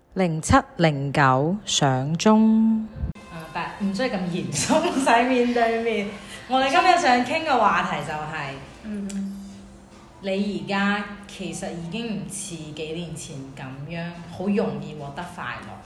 0709上中。但唔需要咁嚴肅，唔使面對面。我哋今日想傾嘅話題就係、你而家其實已經唔似幾年前咁樣，好容易獲得快樂。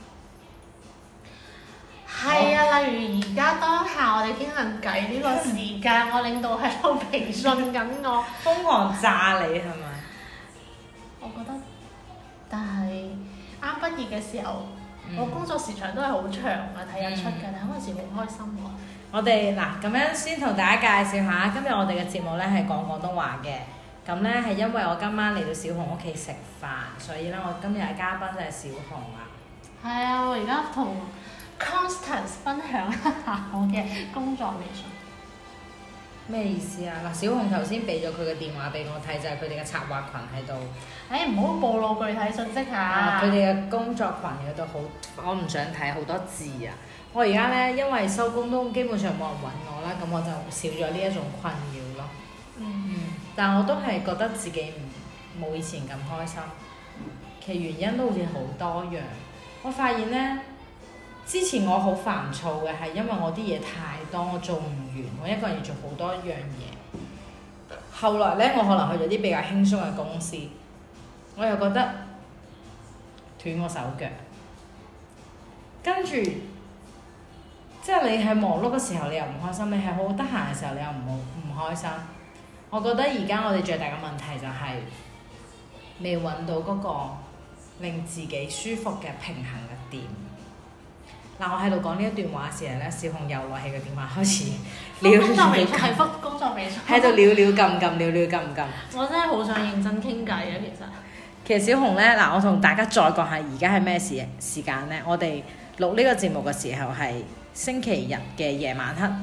係啊，例如而家當下我哋傾緊偈呢個時間，我領導喺度微信緊我， 瘋狂炸你係咪？ 我覺得，但係啱畢業嘅時候，我工作時長都係好長㗎，睇日出㗎，但係嗰陣時好開心喎。 我哋嗱咁樣先同大家介紹下，今日我哋嘅節目咧係講廣東話嘅。咁咧係因為我今晚嚟到小紅屋企食飯，所以咧我今日嘅嘉賓就係小紅啦。 係啊，我而家同 Constance 分享一下我嘅工作微信。 咩意思啊？嗱，小紅頭先俾咗佢嘅電話俾我睇，就係佢哋嘅策劃群喺度。 唔好暴露具體信息嚇。 佢哋嘅工作群嗰度好，我唔想睇好多字啊！我而家咧，因為收工都基本上冇人揾我啦，咁我就少咗呢一種困擾咯。但我都係覺得自己冇以前咁開心。其實原因都好似好多樣。我發現咧，之前我好煩躁嘅係因為我啲嘢太多，我做唔完，我一個人要做好多樣嘢。後來咧，我可能去咗啲比較輕鬆嘅公司，我又覺得斷我手腳。跟住，即係你喺忙碌嘅時候，你又唔開心；你係好得閒嘅時候，你又唔開心。我覺得而家我哋最大嘅問題就係未揾到嗰個令自己舒服嘅平衡嘅點。嗱，我喺度講呢一段話嘅時候咧，小紅又攞起個電話開始撩工作微信係覆工作微信， 喺度撩撳。 我真係好想認真傾偈啊！ 其實小紅咧，嗱，我同大家再講下而家係咩時間咧？我哋錄呢個節目嘅時候係星期日嘅夜晚黑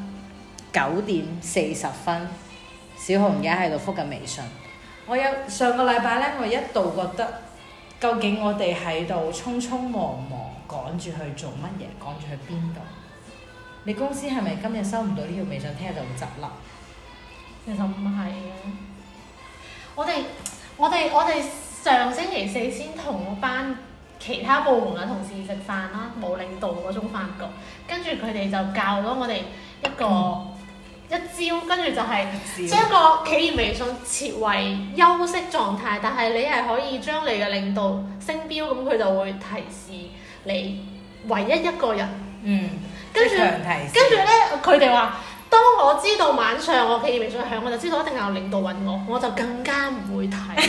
9:40。小紅而家喺度覆緊微信。我有上個禮拜咧，我一度覺得究竟我哋喺度匆匆忙忙趕住去做乜嘢，趕住去邊度？你公司係咪今日收唔到呢條微信，聽日就會執笠？ 其實唔係嘅，我哋上星期四先同嗰班其他部門嘅同事食飯啦，冇領導嗰種飯局，跟住佢哋就教咗我哋一招，跟住就係將個企業微信設為休息狀態，但係你係可以將你嘅領導升標，咁佢就會提示你唯一一個人。跟住咧，佢哋話：當我知道晚上我企業微信響，我就知道一定有領導揾我，我就更加唔會睇。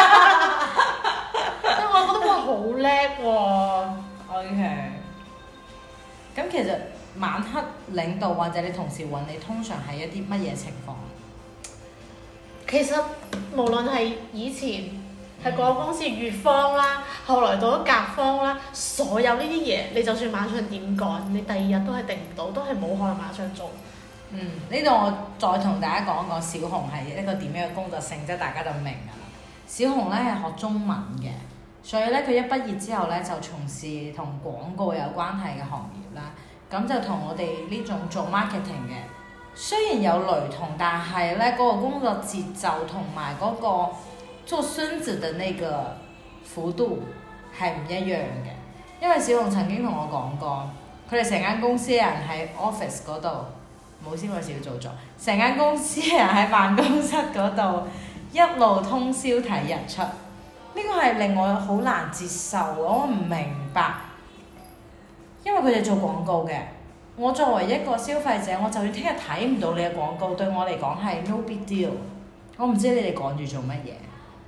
所以我覺得我好叻喎。 OK。咁其實晚黑領導或者你同事揾你，通常係一啲乜嘢情況？ 其實無論係以前係個公司乙方啦，後來到咗甲方啦，所有呢啲嘢，你就算晚上點趕，你第二日都係定唔到，都係冇可能馬上做。 呢度我再同大家講一講小紅係一個點樣嘅工作性質，大家就明㗎啦。小紅咧係學中文嘅，所以咧佢一畢業之後咧就從事同廣告有關係嘅行業啦。咁就同我哋呢種做 marketing 嘅，雖然有雷同，但係咧嗰個工作節奏同埋嗰個做孫子嘅那個幅度係唔一樣嘅。因為小紅曾經同我講過，佢哋成間公司嘅人喺 office 嗰度，冇先我少做咗，成間公司嘅人喺辦公室嗰度一路通宵睇日出，呢個係令我好難接受，我唔明白。因為佢哋做廣告嘅，我作為一個消費者，我就算聽日睇唔到你嘅廣告，對我嚟講係 no big deal。我唔知你哋趕住做乜嘢。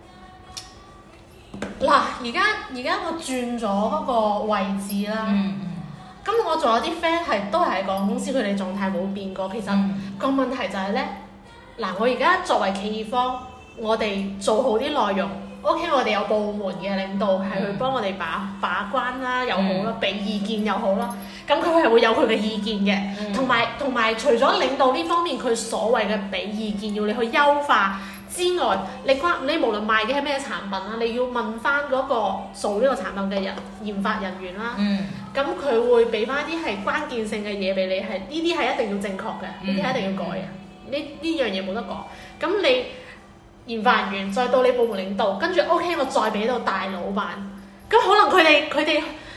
嗱，而家我轉咗嗰個位置啦。咁我仲有啲 friend 都係喺廣告公司，佢哋狀態冇變過。其實個問題就係咧，嗱，我而家作為企業方，我哋做好啲內容。OK， 我哋有部門嘅領導係去幫我哋把關啦，又好啦，俾意見又好啦。咁佢係會有佢嘅意見嘅，同埋除咗領導呢方面，佢所謂嘅俾意見要你去優化之外，你無論賣嘅係咩產品啦，你要問翻嗰個做呢個產品嘅人、研發人員啦。咁佢會俾翻啲係關鍵性嘅嘢俾你，係呢啲係一定要正確嘅，呢啲係一定要改嘅，呢樣嘢冇得講。咁你研發人員再到你部門領導，跟住 OK， 我再俾到大老闆。咁可能佢哋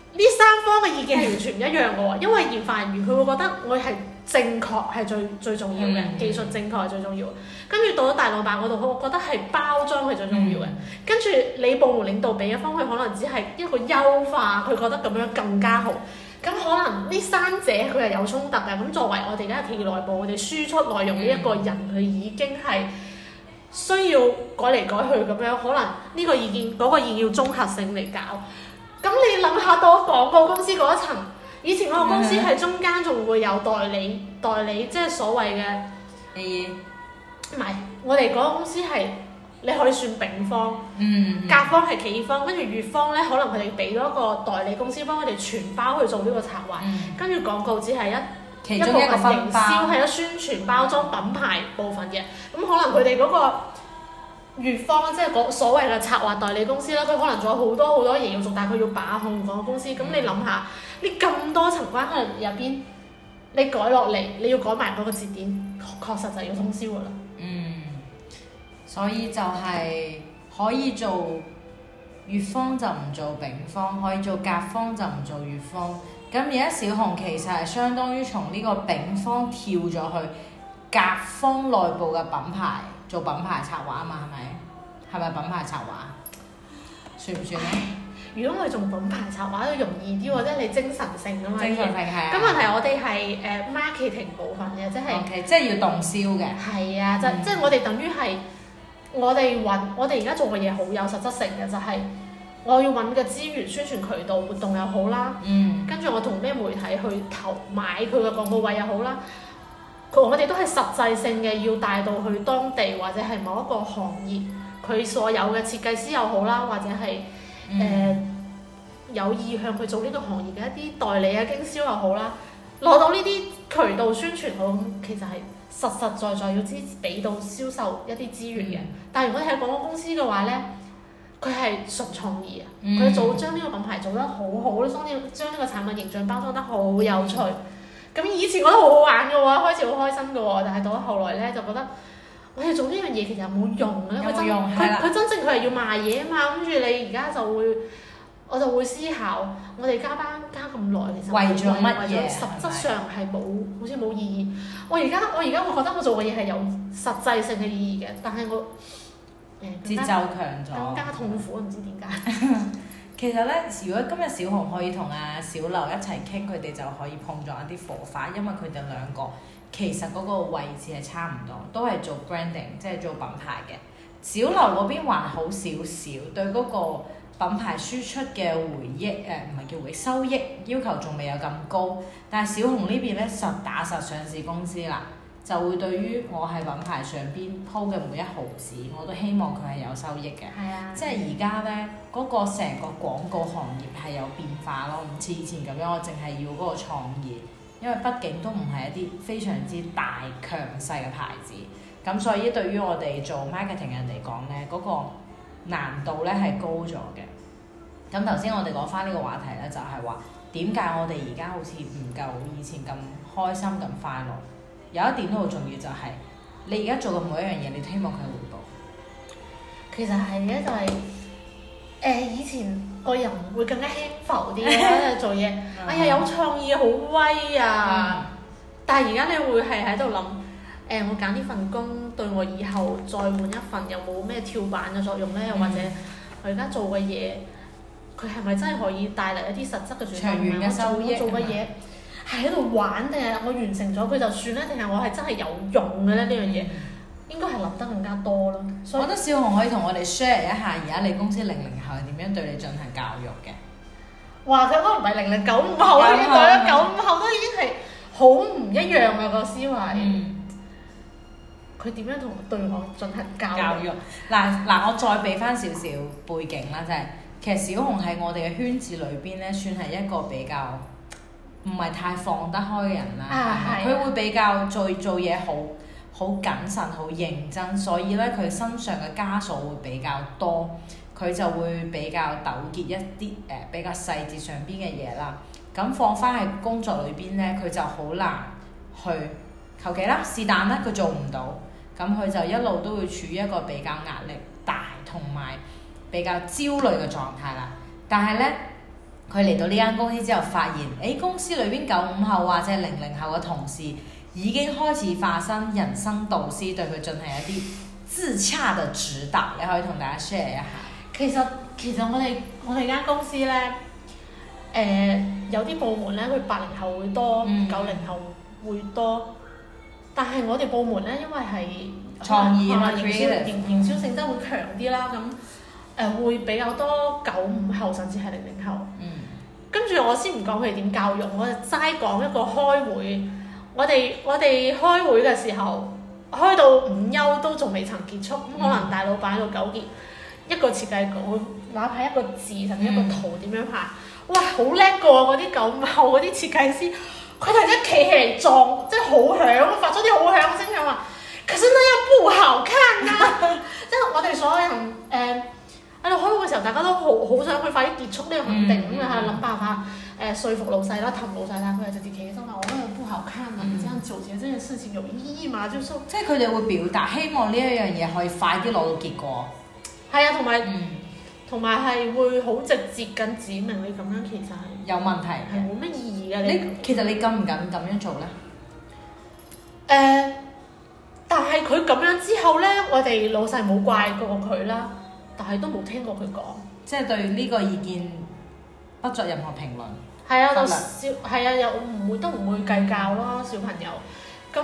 呢三方嘅意見係完全唔一樣嘅喎，因為研發人員佢會覺得我係正確係最重要嘅，技術正確係最重要嘅。跟住到咗大老闆嗰度，我覺得係包裝係最重要嘅。跟住你部門領導俾嘅方，佢可能只係一個優化，佢覺得咁樣更加好。咁可能呢三者佢係有衝突嘅。咁作為我哋而家企業內部，我哋輸出內容呢一個人，佢已經係需要改嚟改去咁樣，可能呢個意見嗰個意見要綜合性嚟搞。咁你諗下到廣告公司嗰一層，以前嗰個公司係中間仲會有代理，即係所謂嘅 A， 唔係，我哋嗰個公司係你可以算丙方，甲方係企方，跟住乙方咧可能佢哋俾咗一個代理公司幫佢哋全包去做呢個策劃，跟住廣告只係一部分營銷，係一宣傳包裝品牌部分嘅，咁可能佢哋嗰個乙方即係所謂嘅策劃代理公司啦，佢可能仲有好多嘢要做，但係佢要把控嗰個公司。咁你諗下，呢咁多層關係入邊，你改落嚟，你要改埋嗰個節點，確實就要通宵㗎啦。 所以就係可以做乙方就唔做丙方，可以做甲方就唔做乙方。咁而家小紅其實係相當於從呢個丙方跳咗去甲方內部嘅品牌做品牌策劃啊嘛，係咪？係咪品牌策劃？算唔算咧？ 如果我哋做品牌策劃都容易啲喎，即係你精神性啊嘛。 精神性係啊。 咁問題我哋係marketing 部分嘅，即係。 OK， 即係要動銷嘅。係啊，即係我哋等於係我哋而家做嘅嘢好有實質性嘅，就係我要揾嘅資源、宣傳渠道、活動又好啦。跟住我同咩媒體去買佢嘅廣告位又好啦。我哋都係實際性嘅，要帶到去當地或者係某一個行業，佢所有嘅設計師又好啦，或者係有意向去做呢個行業嘅一啲代理啊、經銷又好啦，攞到呢啲渠道宣傳好，其實係實在要俾到銷售一啲資源嘅。但係如果你喺廣告公司嘅話咧，佢係純創意啊，佢將呢個品牌做得好好，將呢個產品形象包裝得好有趣。咁以前覺得好好玩嘅喎，開始好開心嘅喎，但係到咗後來咧就覺得我哋做呢樣嘢其實有冇用咧？佢真正佢係要賣嘢啊嘛，跟住你而家我就會思考，我哋加班加咁耐，其實為咗乜嘢？實質上係好似冇意義。我而家會覺得我做嘅嘢係有實際性嘅意義嘅，但係我節奏強咗， 更加痛苦，唔知點解。 其實咧，如果今日小紅可以同阿小劉一齊傾，佢哋就可以碰撞一啲火花，因為佢哋兩個其實嗰個位置係差唔多，都係做 branding， 即係做品牌嘅。小劉嗰邊還好少少，對嗰個品牌輸出嘅回憶唔係叫回收益要求仲未有咁高，但係小紅呢邊咧實打實上市公司啦。就會對於我喺品牌上邊鋪嘅每一毫子，我都希望佢係有收益嘅。係啊，即係而家咧嗰個成個廣告行業係有變化咯，唔似以前咁樣，我淨係要嗰個創意，因為畢竟都唔係一啲非常之大強勢嘅牌子，咁所以對於我哋做 marketing 人嚟講咧，嗰個難度咧係高咗嘅。咁頭先我哋講翻呢個話題咧，就係話點解我哋而家好似唔夠以前咁開心咁快樂？有一點都好重要，就係你而家做嘅每一樣嘢，你都希望佢回報。 其實係嘅，就係以前個人會更加輕浮啲啦，做嘢，哎呀有創意好威啊！但係而家你會係喺度諗，我揀呢份工對我以後再換一份有冇咩跳板嘅作用咧？又或者我而家做嘅嘢，佢係咪真係可以帶嚟一啲實質嘅長遠嘅收益？ 我做嘅嘢係喺度玩定係我完成咗佢就算咧？定係我係真係有用嘅咧？呢樣嘢應該係諗得更加多咯。 我覺得小紅可以同我哋 share 一下而家你公司00後係點樣對你進行教育嘅？ 哇！佢嗰個唔係0095後啦，已經對咗95後都已經係好唔一樣啊個思維。佢點樣同對我進行教育？ 嗱，我再俾翻少少背景啦，就係其實小紅喺我哋嘅圈子裏邊咧，算係一個比較唔係太放得開嘅人啦。佢會比較做嘢好謹慎、好認真，所以咧佢身上嘅枷鎖會比較多，佢就會比較糾結一啲比較細節上邊嘅嘢啦。咁放翻喺工作裏邊咧，佢就好難去求其啦，是但啦，佢做唔到。咁佢就一路都會處於一個比較壓力大同埋比較焦慮嘅狀態啦。但係咧， 佢嚟到呢間公司之後，發現公司裏邊95後或者00後嘅同事已經開始化身人生導師，對佢進行一啲自洽嘅指導。你可以同大家 share 一下。 其實我哋間公司咧，有啲部門咧，佢80後會多，90後會多。但係我哋部門咧，因為係創意啊嘛， 營銷性質會強啲啦，咁會比較多95後甚至係00後。跟住我先唔講佢哋點教育，我就齋講一個開會。我哋開會嘅時候，開到午休都仲未曾結束，咁可能大老闆喺度糾結一個設計稿，哪怕一個字甚至一個圖點樣排，哇，好叻㗎喎！嗰啲95後嗰啲設計師。佢突然間企起嚟撞，即係好響，發出啲好響聲響話，其實那樣不好看啊！即係我哋所有人喺度開會嘅時候，大家都好想去快啲結束呢個肯定咁啊，諗辦法說服老細啦，氹老細啦，佢係直接企起身話：我覺得不好看啊！你這樣糾結這件事情有意義嘛？即係佢哋會表達希望呢一樣嘢可以快啲攞到結果。係啊，同埋係會好直接咁指明你咁樣其實係有問題， 係冇乜意義嘅。 其實你敢唔敢咁樣做咧？ 但係佢咁樣之後咧，我哋老細冇怪過佢啦，但係都冇聽過佢講。即係對呢個意見不作任何評論。 係啊，又都唔會計較咯，小朋友。咁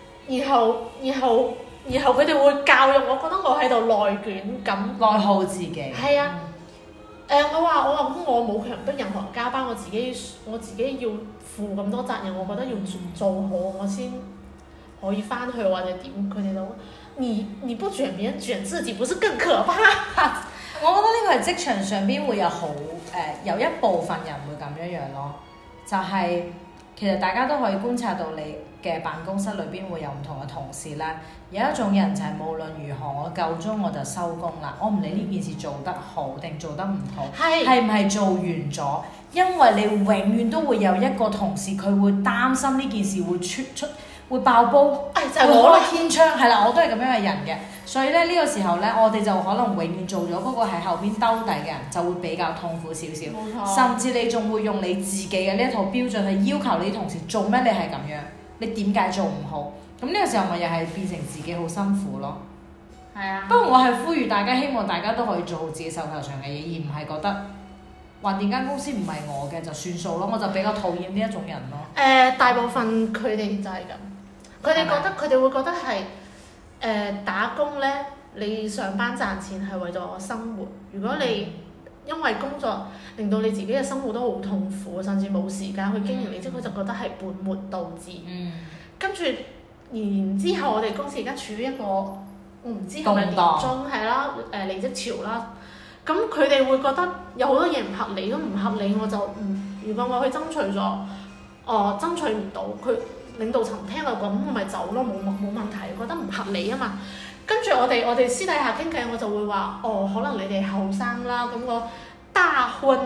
然後佢哋會教育我，覺得我喺度內卷咁。 內耗自己。 係啊。我話咁我冇強迫任何人加班，我自己要負咁多責任，我覺得要做好，我先可以翻去或者點。佢哋就你不捲別人捲自己，不是更可怕？ 我覺得呢個係職場上邊會有有一部分人會咁樣樣咯，就係、其實大家都可以觀察到你嘅辦公室裏邊會有唔同嘅同事啦。有一種人就係無論如何我夠鐘我就收工啦，我唔理呢件事做得好定做得唔好，係唔係做完咗，因為你永遠都會有一個同事佢會擔心呢件事會會爆煲，就係我開天窗，係啦，我都係咁樣嘅人嘅，所以咧呢個時候咧，我哋就可能永遠做咗嗰個喺後邊兜底嘅人，就會比較痛苦少少，冇錯，甚至你仲會用你自己嘅呢一套標準去要求你同事做咩你係咁樣，你點解做唔好？咁呢個時候咪又係變成自己好辛苦咯。係啊。不過我係呼籲大家，希望大家都可以做好自己手頭上嘅嘢，而唔係覺得橫掂間公司唔係我嘅就算數咯。我就比較討厭呢一種人咯。 大部分佢哋就係咁，佢哋會覺得係打工咧，你上班賺錢係為咗生活。如果你因為工作令到你自己嘅生活都好痛苦，甚至冇時間去經營你，即係佢就覺得係本末倒置。跟住。然之後，我哋公司而家處於一個我唔知係咪年中係啦，離職潮啦。咁佢哋會覺得有好多嘢唔合理，都唔合理，我就如果我去爭取咗，爭取唔到，佢領導層聽到咁，我咪走咯，冇問題，覺得唔合理啊嘛。跟住我哋私底下傾偈，我就會話，可能你哋後生啦，咁我大婚。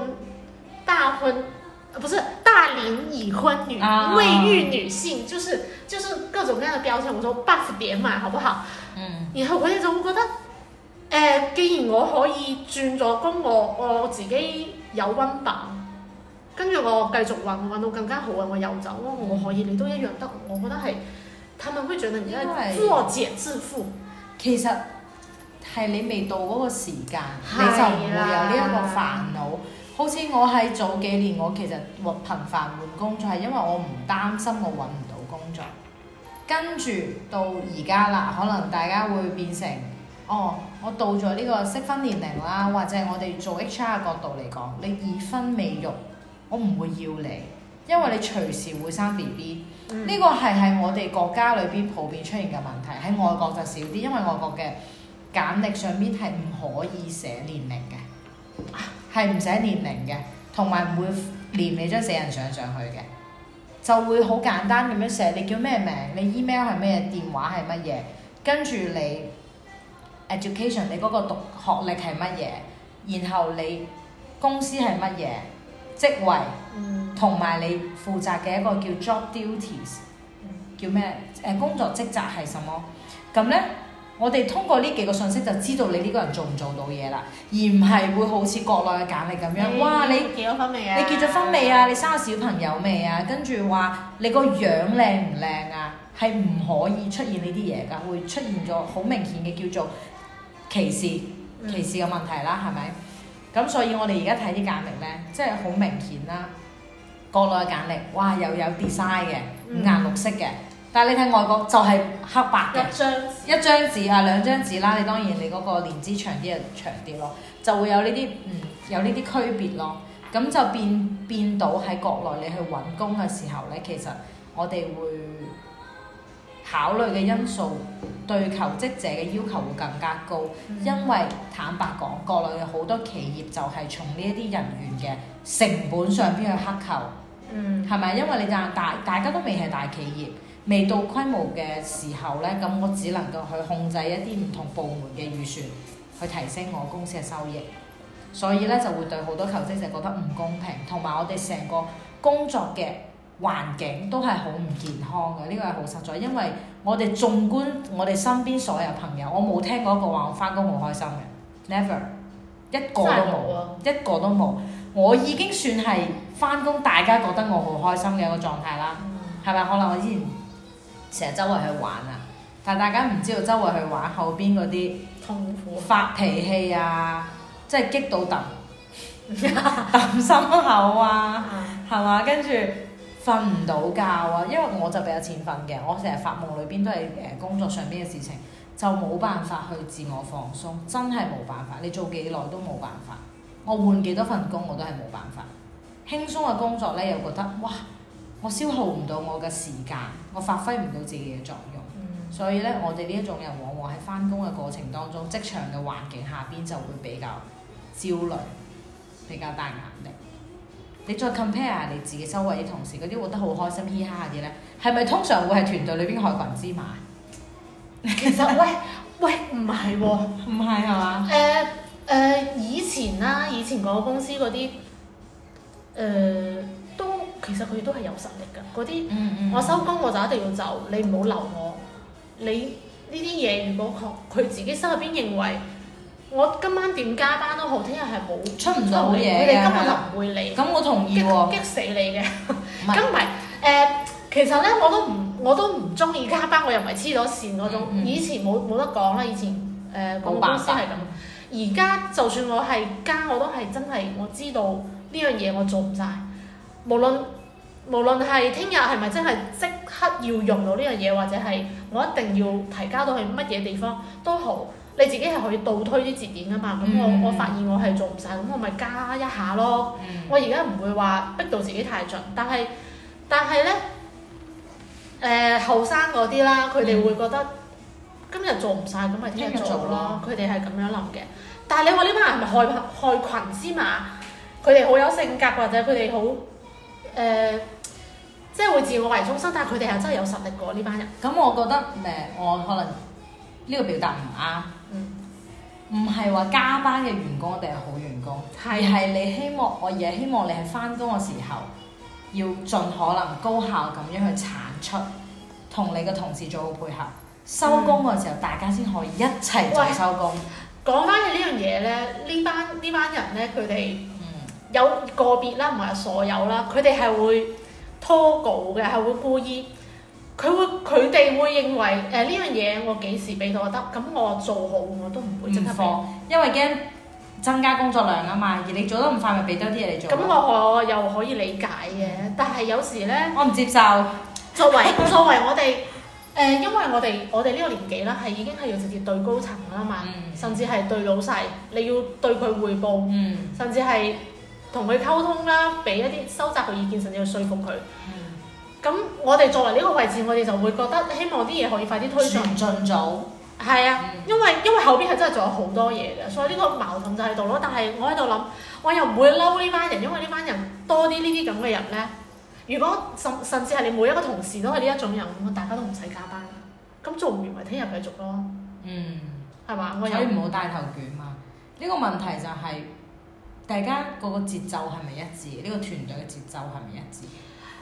不是大齡已婚未育女性，就是各種各樣的標籤，我說 buff 點嘛，好不好？然後佢哋就會覺得，既然我可以轉咗工，我自己有溫飽，跟住我繼續揾到更加好嘅，我又走咯，我可以，你都一樣得。我覺得係，他們會覺得你在作繭自負。其實係你未到嗰個時間，你就唔會有呢一個煩惱。好似我喺早幾年，我其實頻繁換工作係因為我唔擔心我揾唔到工作。跟住到而家啦，可能大家會變成，我到咗呢個適婚年齡啦，或者我哋做 HR 嘅角度嚟講，你已婚未育，我唔會要你，因為你隨時會生 BB。呢個係喺我哋國家裏邊普遍出現嘅問題，喺外國就少啲，因為外國嘅簡歷上邊係唔可以寫年齡嘅。係唔寫年齡嘅，同埋唔會連你張死人相上去嘅，就會好簡單咁樣寫你叫咩名，你 email 係咩，電話係乜嘢，跟住你 education 你嗰個讀學歷係乜嘢，然後你公司係乜嘢職位，同埋你負責嘅一個叫 job duties，叫咩工作職責係什麼？咁咧我哋通過呢幾個信息就知道你呢個人做唔做到嘢啦，而唔係會好似國內嘅簡歷咁樣，哇你結咗婚未啊？ 你結咗婚未啊？你生咗小朋友未啊？跟住話你個樣靚唔靚啊？係唔可以出現呢啲嘢㗎，會出現咗好明顯嘅叫做歧視嘅問題啦，係咪？咁所以我哋而家睇啲簡歷咧，即係好明顯啦。國內嘅簡歷，哇又有 design 嘅，五顏六色嘅。但係你睇外國就係黑白嘅，一張紙啊兩張紙啦。你當然你嗰個年資長啲就長啲咯，就會有呢啲有呢啲區別咯。咁就變到喺國內你去揾工嘅時候咧，其實我哋會考慮嘅因素對求職者嘅要求會更加高，因為坦白講，國內嘅好多企業就係從呢一啲人員嘅成本上邊去克扣，係咪？因為你大家都未係大企業，未到規模嘅時候咧，咁我只能夠去控制一啲唔同部門嘅預算，去提升我公司嘅收益，所以咧就會對好多求職者覺得唔公平，同埋我哋成個工作嘅環境都係好唔健康嘅，呢個係好實在，因為我哋縱觀我哋身邊所有朋友，我冇聽過一個話我翻工好開心嘅 ，never 一個都冇，一個都冇。我已經算係翻工大家覺得我好開心嘅一個狀態啦，係咪？可能我之前成日周圍去玩啊，但係大家唔知道周圍去玩後邊嗰啲痛苦、 發脾氣啊，即係激到揼心口啊，係嘛？跟住瞓唔到覺啊，因為我就比較淺瞓嘅，我成日發夢裏邊都係工作上邊嘅事情，就冇辦法去自我放鬆，真係冇辦法。你做幾耐都冇辦法，我換幾多份工我都係冇辦法。輕鬆嘅工作咧又覺得哇，我消耗唔到我嘅時間，我發揮唔到自己嘅作用。所以咧，我哋呢一種人往往喺翻工嘅過程當中，職場嘅環境下邊就會比較焦慮，比較大壓力。你再 compare 下你自己周圍啲同事，嗰啲活得好開心嘻哈啲咧，係咪通常會係團隊裏邊嘅害群之馬？ 其實喂唔係喎， 唔係係嘛？ 以前啦，以前嗰個公司嗰啲都其實佢哋都係有實力㗎，嗰啲我收工我就一定要走，你唔好留我。你呢啲嘢如果佢自己心入邊認為我今晚點加班都好，聽日係冇出唔到嘢嘅， 佢哋根本就唔會理。 咁我同意喎， 激死你嘅。咁唔係其實咧我都唔中意加班，我又唔係黐咗線嗰種。以前冇得講啦，以前個公司係咁。而家就算我係加，我都係真係我知道呢樣嘢我做唔晒。無論係聽日係咪真係即刻要用到呢樣嘢，或者係我一定要提交到去乜嘢地方都好，你自己係可以倒推啲節點噶嘛。咁我發現我係做唔晒，咁我咪加一下咯。我而家唔會話逼到自己太盡，但係咧後生嗰啲啦，佢哋會覺得今日做唔晒，咁咪聽日做咯。佢哋係咁樣諗嘅。但係你話呢班人係咪害群之馬？佢哋好有性格，或者佢哋好即係會自我為中心，但係佢哋係真係有實力過呢班人。 咁我覺得我可能呢個表達唔啱。唔係話加班嘅員工一定係好員工，而係你希望你係翻工嘅時候，要盡可能高效咁樣去產出，同你嘅同事做好配合。收工嘅時候，大家先可以一齊做收工。 講翻起呢樣嘢咧，呢班人咧，佢哋有個別啦，唔係所有啦，佢哋係會拖稿嘅，係會故意，佢哋會認為呢樣嘢我幾時俾到得，咁我做好我都唔會即刻俾， 因為驚增加工作量啊嘛，而你做得咁快，咪俾多啲嘢你做。 咁我又可以理解嘅，但係有時咧， 我唔接受。 作為我哋。因為我哋呢個年紀啦，係已經係要直接對高層啦嘛，甚至係對老細，你要對佢彙報，甚至係同佢溝通啦，俾一啲收集佢意見，甚至去說服佢。咁我哋作為呢個位置，我哋就會覺得希望啲嘢可以快啲推進。 盡早。係啊，因為後邊係真係仲有好多嘢嘅，所以呢個矛盾就喺度咯。但係我喺度諗，我又唔會嬲呢班人，因為呢班人多啲呢啲咁嘅人咧。如果甚至係你每一個同事都係呢一種人，咁大家都唔使加班，咁做唔完咪聽日繼續咯。係嘛？ 所以唔好帶頭捲嘛。呢個問題就係大家個節奏係咪一致？呢個團隊嘅節奏係咪一致？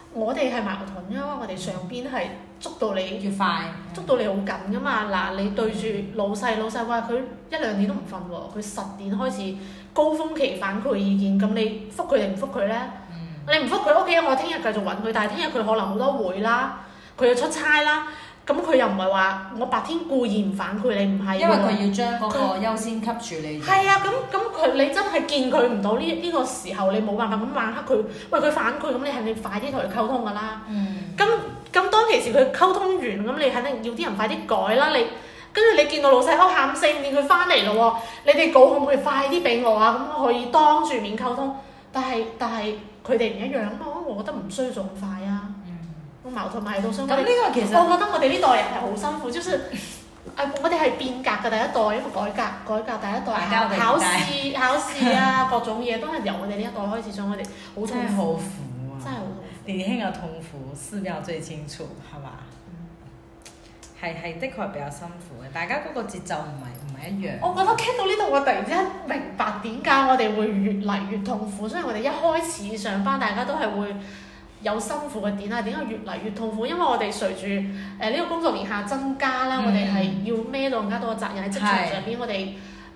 我哋係矛盾，因為我哋上邊係捉到你越快， 捉到你好緊噶嘛。嗱，你對住老細話佢1、2點都唔瞓喎，佢10點開始高峰期反饋意見，咁你覆佢定唔覆佢咧？你唔覆佢 OK，我聽日繼續揾佢，但係聽日佢可能好多會啦，佢要出差啦。咁佢又唔係話我白天故意唔反饋你，唔係。 因為佢要將嗰個優先級處理。 係啊，咁你真係見佢唔到呢個時候，你冇辦法咁晚黑佢，喂佢反饋，咁你肯定快啲同佢溝通㗎啦。咁當其時佢溝通完，咁你肯定要啲人快啲改啦。跟住你見到老細下午4、5點佢翻嚟咯喎，你哋稿可唔可以快啲俾我啊？咁我可以當住面溝通。但係佢哋唔一樣啊嘛，我覺得唔需要做咁快啊。個矛盾咪喺度，所以咁呢個其實我覺得我哋呢代人係好辛苦，就是我哋係變革嘅第一代，因為改革第一代考試啊各種嘢都係由我哋呢一代開始，所以我哋好痛苦。 真係好苦啊！ 真係好痛苦。 年輕嘅痛苦，私聊最清楚，係嘛？係的確係比較辛苦嘅，大家嗰個節奏唔係一樣。我覺得傾到呢度，我突然之間明白點解我哋會越嚟越痛苦。所以我哋一開始上班，大家都係會有辛苦嘅點啊，點解越嚟越痛苦？因為我哋隨住呢個工作年限增加啦，我哋係要孭到更加多嘅責任喺職場上邊，我哋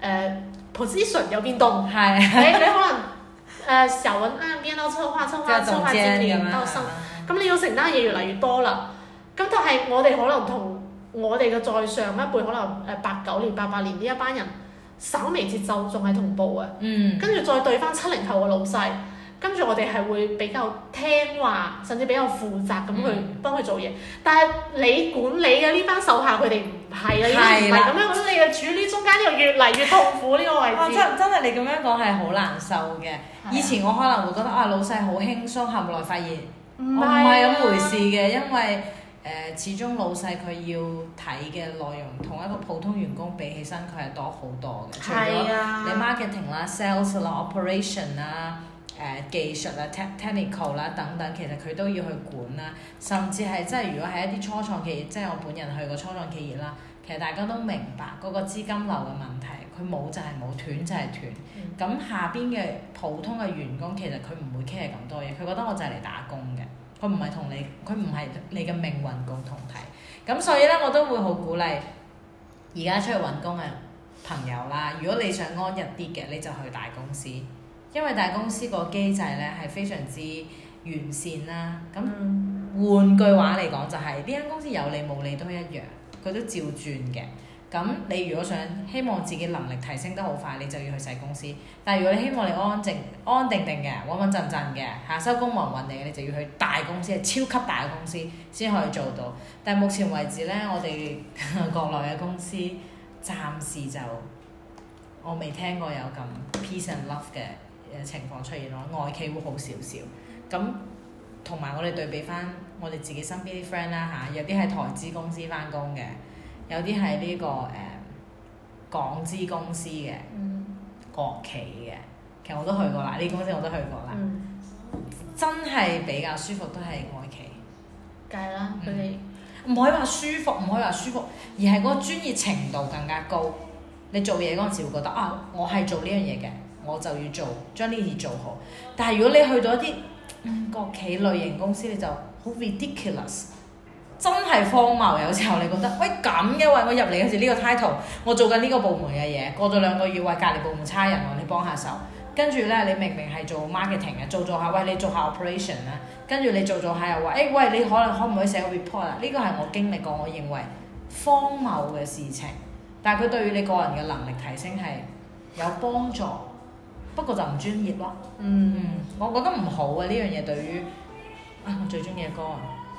position 有變動。係。你可能小文案變到策劃經理到生，咁你要承擔嘅嘢越嚟越多啦。咁但係我哋可能同我哋嘅再上一輩，可能89年、88年呢一班人，稍微節奏仲係同步嘅。跟住再對翻70後嘅老細。跟住我哋係會比較聽話，甚至比較負責咁去幫佢做嘢。但係你管理嘅呢班手下，佢哋唔係啦，已經唔係咁樣。咁你嘅處於中間呢個越嚟越痛苦呢個位置。 真係你咁樣講係好難受嘅。以前我可能會覺得老細好輕鬆，後來發現唔係咁回事嘅，因為始終老細佢要睇嘅內容同一個普通員工比起身，佢係多好多嘅。除咗你 marketing 啦、sales 啦、operation 啦。技術啊 technical 啦等等，其實佢都要去管啦，甚至係即係如果係一啲初創企業，即係我本人去過初創企業啦，其實大家都明白嗰個資金流嘅問題，佢冇就係冇，斷就係斷。咁下邊嘅普通嘅員工其實佢唔會 care 咁多嘢，佢覺得我就係嚟打工嘅，佢唔係同你，佢唔係你嘅命運共同體。咁所以咧，我都會好鼓勵而家出去揾工嘅朋友啦，如果你想安逸啲嘅，你就去大公司。因為大公司個機制咧係非常之完善啦，咁換句話嚟講就係呢間公司有你冇你都一樣，佢都照轉嘅。咁你如果想希望自己能力提升得好快，你就要去細公司。但係如果你希望你安定定嘅、穩穩陣陣嘅嚇，收工穩穩地嘅，你就要去大公司，係超級大嘅公司先可以做到。但係目前為止咧，我哋國內嘅公司暫時就我未聽過有咁 peace and love 嘅情況出現咯，外企會好少少。咁同埋我哋對比翻我哋自己身邊啲 friend 啦嚇，有啲係台資公司翻工嘅，有啲係呢個港資公司嘅，國企嘅。其實我都去過啦，呢啲公司我都去過啦。真係比較舒服都係外企。 梗係啦，佢哋唔可以話舒服，而係嗰個專業程度更加高。你做嘢嗰陣時會覺得我係做呢樣嘢嘅。我就要將呢啲做好。但係如果你去到一啲國企類型公司，你就好 ridiculous， 真係荒謬。有時候你覺得喂咁嘅，喂我入嚟嗰時呢個 title， 我做緊呢個部門嘅嘢，過咗2個月，喂隔離部門差人喎，你幫下手。跟住咧，你明明係做 marketing 嘅，做下，喂你做下 operation 啦。跟住你做下又話，喂你可唔可以寫個 report 啊？呢個係我經歷過，我認為荒謬嘅事情。但係佢對於你個人嘅能力提升係有幫助。不過就唔專業咯。我覺得唔好啊！呢樣嘢對於我最中意嘅歌啊，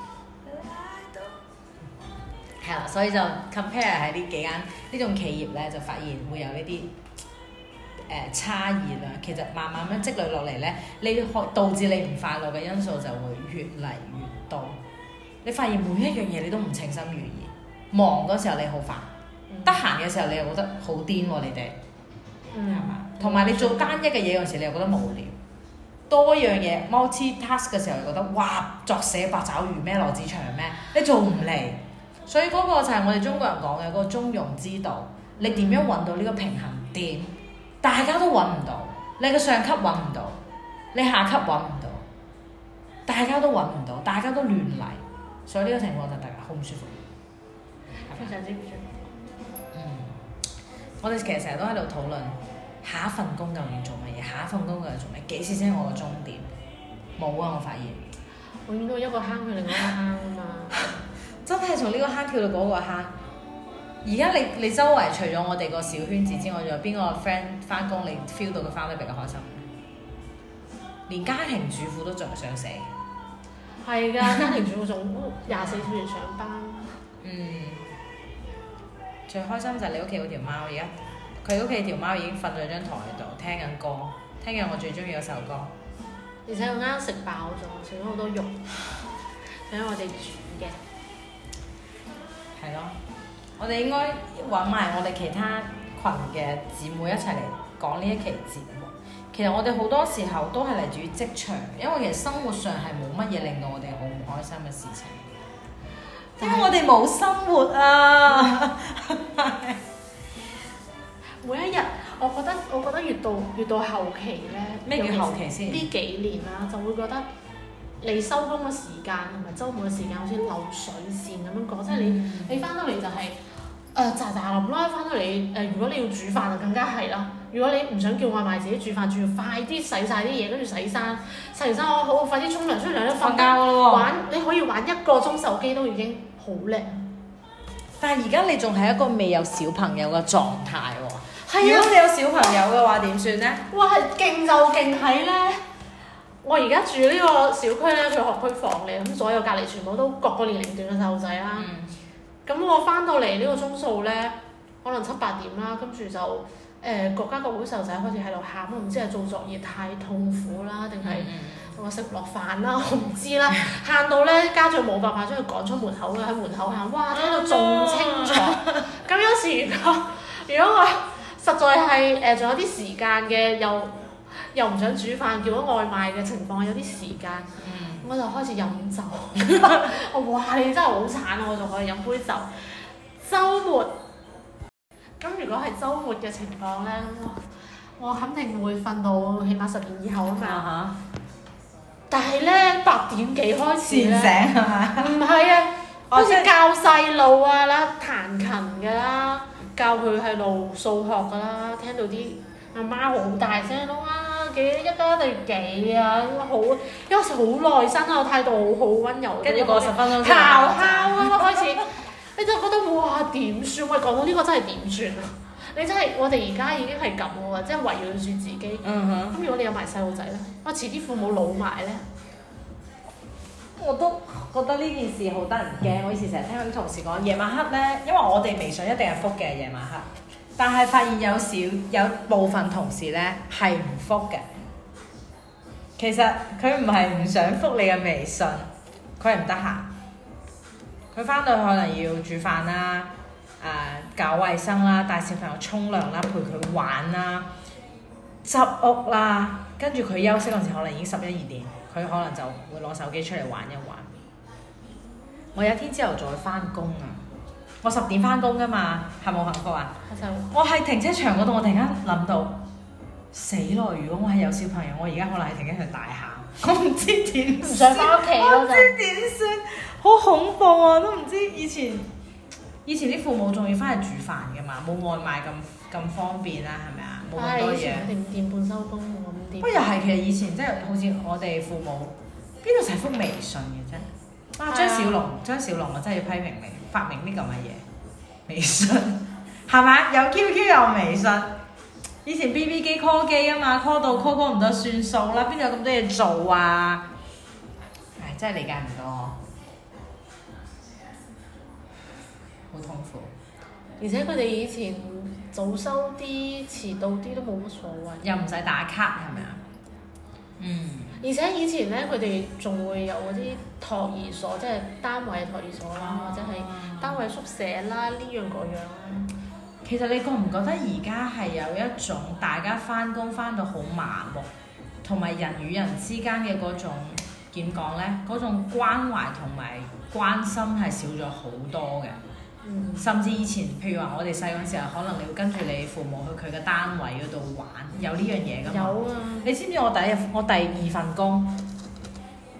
係啦，所以就 compare 喺呢幾間呢種企業咧，就發現會有呢啲差異啦。其實慢慢咁積累落嚟咧，你導致你唔快樂嘅因素就會越嚟越多。你發現每一樣嘢你都唔稱心如意，忙嗰時候你好煩，得閒嘅時候你又覺得好癲喎，你哋係嘛？同埋你做單一嘅嘢嗰時，你又覺得無聊；多樣嘢 multi-task 嘅時候，又覺得哇作寫八爪魚咩羅志祥咩，你做唔嚟。所以嗰個就係我哋中國人講嘅嗰個中庸之道。你點樣揾到呢個平衡點？大家都揾唔到，你嘅上級揾唔到，你下級揾唔到， 大家都揾唔到，大家都亂嚟，所以呢個情況就大家好唔舒服。 非常之唔舒服。 我哋其實成日都喺度討論下一份工究竟做乜嘢，下一份工究竟做咩，幾時先係我嘅終點？冇啊！我發現永遠都一個坑去另外一個坑啊嘛。真係從呢個坑跳到嗰個坑。而家你周圍除咗我哋個小圈子之外，仲有邊個 friend 翻工你 feel 到佢翻得比較開心？連家庭主婦都仲係想死。 係㗎，家庭主婦仲24小時上班。 最開心就係你屋企嗰條貓，而家佢屋企條貓已經瞓咗張台度聽緊歌，聽緊我最中意嗰首歌。 而且佢啱食飽咗，食咗好多肉，係因為我哋煮嘅。 係咯，我哋應該揾埋我哋其他群嘅姊妹一齊嚟講呢一期節目。其實我哋好多時候都係嚟自於職場，因為其實生活上係冇乜嘢令到我哋好唔開心嘅事情。因為我哋冇生活啊！ 每一日，我覺得越到後期咧， 咩叫後期先？ 呢幾年啦，就會覺得你收工嘅時間同埋週末嘅時間好似流水線咁樣講，即係你翻到嚟就係喳喳臨啦，翻到嚟如果你要煮飯就更加係啦。如果你唔想叫外賣自己煮飯，仲要快啲洗晒啲嘢，跟住洗完衫好快啲沖涼，沖涼都瞓覺咯喎。你可以玩1個鐘手機都已經好叻。但係而家你仲係一個未有小朋友嘅狀態喎。係啊。如果你有小朋友嘅話點算咧？哇！勁就勁喺咧，我而家住呢個小區咧，佢學區房嚟，咁所有隔離全部都各個年齡段嘅細路仔啦。咁我翻到嚟呢個鐘數咧，可能7、8點啦，跟住就各家各戶細路仔開始喺度喊，我唔知係做作業太痛苦啦，定係我食唔落飯啦，我唔知啦。喊到咧家長冇辦法將佢趕出門口嘅，喺門口喊，哇！聽到仲清楚。咁有時如果我實在係仲有啲時間嘅，又唔想煮飯，叫咗外賣嘅情況，有啲時間，我就開始飲酒。我哇！你真係好慘啊！我仲可以飲杯酒。週末。咁如果係週末嘅情況咧，我肯定會瞓到起碼10點以後啊嘛。但係咧8點幾開始咧，醒係嘛？唔係啊，開始教細路啊啦，彈琴㗎啦，教佢係路數學㗎啦，聽到啲阿媽好大聲咯，哇1加1等於幾啊？好，有時好耐心啊，態度好溫柔。跟住過10分鐘咆哮啊開始。你就覺得哇點算？喂，講到呢個真係點算啊？你真係我哋而家已經係咁喎，即係圍繞住自己。咁如果你有埋細路仔咧，我遲啲父母老埋咧，我都覺得呢件事好得人驚。我以前成日聽啲同事講，夜晚黑咧，因為我哋微信一定係覆嘅夜晚黑，但係發現有部分同事咧係唔覆嘅。其實佢唔係唔想覆你嘅微信，佢係唔得閒。佢翻到去可能要煮飯啦，搞衞生啦，帶小朋友沖涼啦，陪佢玩啦，執屋啦，跟住佢休息嗰陣時可能已經11、12點，佢可能就會攞手機出嚟玩一玩。我有一天朝頭早翻工啊，我10點翻工㗎嘛，係冇幸福啊？我喺停車場嗰度，我突然間諗到，死咯！如果我係有小朋友，我而家可能係停緊佢大喊，我唔知點，唔想翻屋企咯，我唔知點算。好恐怖啊！都唔知以前啲父母仲要翻去煮飯嘅嘛，冇外賣咁方便啦，係咪啊？冇咁多嘢。5點半收工，我5點。不過又係，其實以前即係好似我哋父母邊度成日覆微信嘅啫。啊，張小龍我真係要批評你，發明呢咁嘅嘢，微信係咪？有 QQ 有微信。以前 BB 機 call 機啊嘛，call 到 call 唔到算數啦，邊度有咁多嘢做啊？唉，真係理解唔到。好痛苦，而且佢哋以前早收啲、遲到啲都冇乜所謂，又唔使打卡，係咪啊？而且以前咧，佢哋仲會有嗰啲托兒所，即係單位托兒所啦，或者係單位宿舍啦，呢樣嗰樣啦。其實你覺唔覺得而家係有一種大家翻工翻到好麻木，同埋人與人之間嘅嗰種點講咧？嗰種關懷同埋關心係少咗好多嘅。甚至以前，譬如話我哋細嗰陣時候，可能你會跟住你父母去佢嘅單位嗰度玩，有呢樣嘢㗎嘛？有啊！你知唔知我第2份工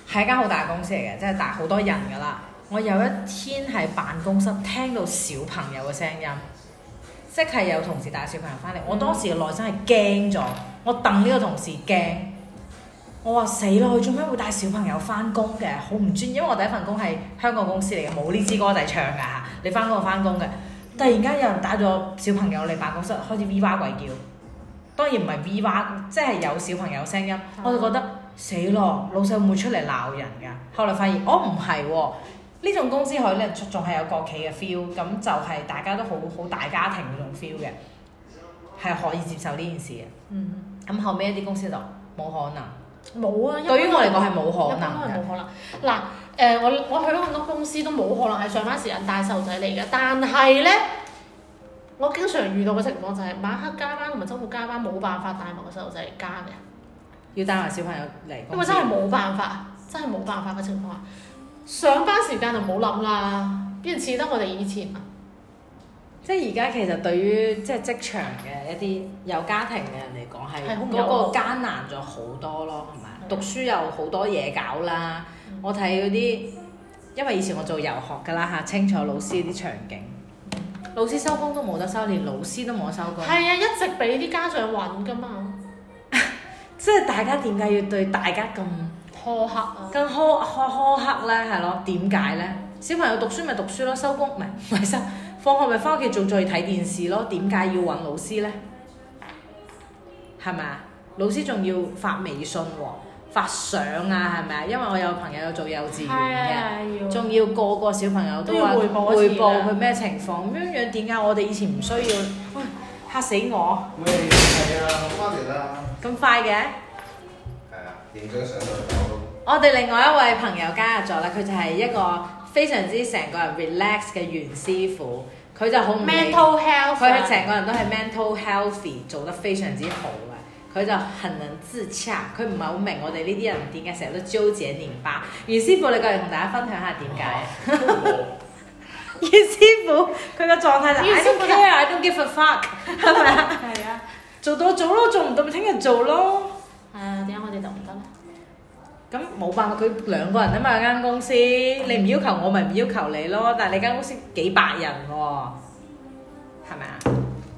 係一間好大嘅公司嚟嘅，即係大好多人㗎啦。我有一天喺辦公室聽到小朋友嘅聲音，即係有同事帶小朋友翻嚟。我當時嘅內心係驚咗，我戥呢個同事驚。我話死啦！佢做咩會帶小朋友翻工嘅？好唔專業，因為我第一份工係香港公司嚟嘅，冇呢支歌仔唱㗎嚇。你翻工就翻工嘅，突然間有人帶咗小朋友嚟辦公室，開始 V 哇鬼叫。當然唔係 V 哇，即係有小朋友聲音，我就覺得死咯，老細會唔會出嚟鬧人㗎？後來發現唔係喎，呢種公司佢咧仲係有國企嘅 feel，咁就係大家都好大家庭嗰種 feel 嘅，係可以接受呢件事嘅。咁後尾一啲公司就冇可能。 冇啊！ 對於我嚟講係冇可能嘅。 冇可能。嗱，我去咗咁多公司都冇可能係上班時間帶細路仔嚟嘅，但係咧，我經常遇到嘅情況就係晚黑加班同埋週末加班冇辦法帶埋個細路仔嚟加嘅。 要帶埋小朋友嚟。 因為真係冇辦法，真係冇辦法嘅情況下，上班時間就冇諗啦，邊似得我哋以前啊？ 即係而家其實對於即係職場嘅一啲有家庭嘅人嚟講係嗰個艱難咗好多咯，係咪？讀書又好多嘢搞啦，我睇嗰啲，因為以前我做遊學㗎啦嚇，清楚老師啲場景，老師收工都冇得收，連老師都冇得收工。 係啊，一直俾啲家長揾㗎嘛。 即係大家點解要對大家咁苛刻啊？ 咁苛刻咧？係咯，點解咧？小朋友讀書咪讀書咯，收工唔係收。放學咪翻屋企做作業睇電視咯，點解要揾老師呢？係咪啊？老師仲要發微信喎，發相啊，係咪啊？因為我有朋友做幼稚園嘅，仲要個個小朋友都話匯報佢咩情況，咁樣點解我哋以前唔需要？喂，嚇死我！ 喂，係啊，翻嚟啦！ 咁快嘅？ 係啊，影張相就走。 我哋另外一位朋友加入咗啦，佢就係一個非常之成個人 relax 嘅袁師傅，佢就好 mental health， 佢係成個人都係 mental healthy， 做得非常之好嘅，佢就很能自洽，佢唔係好明我哋呢啲人點解成日都糾結黏巴。袁師傅，你過嚟同大家分享下點解？袁師傅佢個狀態就 I don't care, I don't give a fuck， 係咪啊？ 係啊， 做到做咯，做唔到咪聽日做咯。 係啊，點解我哋就唔得咧？ 咁冇辦法，佢兩個人啊嘛，間公司你唔要求我咪唔要求你咯。但係你間公司幾百人喎，係咪啊？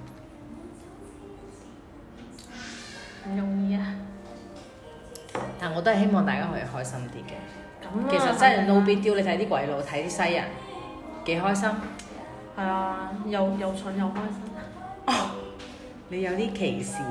唔容易啊！ 但我都係希望大家可以開心啲嘅。 咁其實真係 no big deal，你睇啲鬼佬，睇啲西人幾開心。 係啊，又蠢又開心。 你有啲歧視。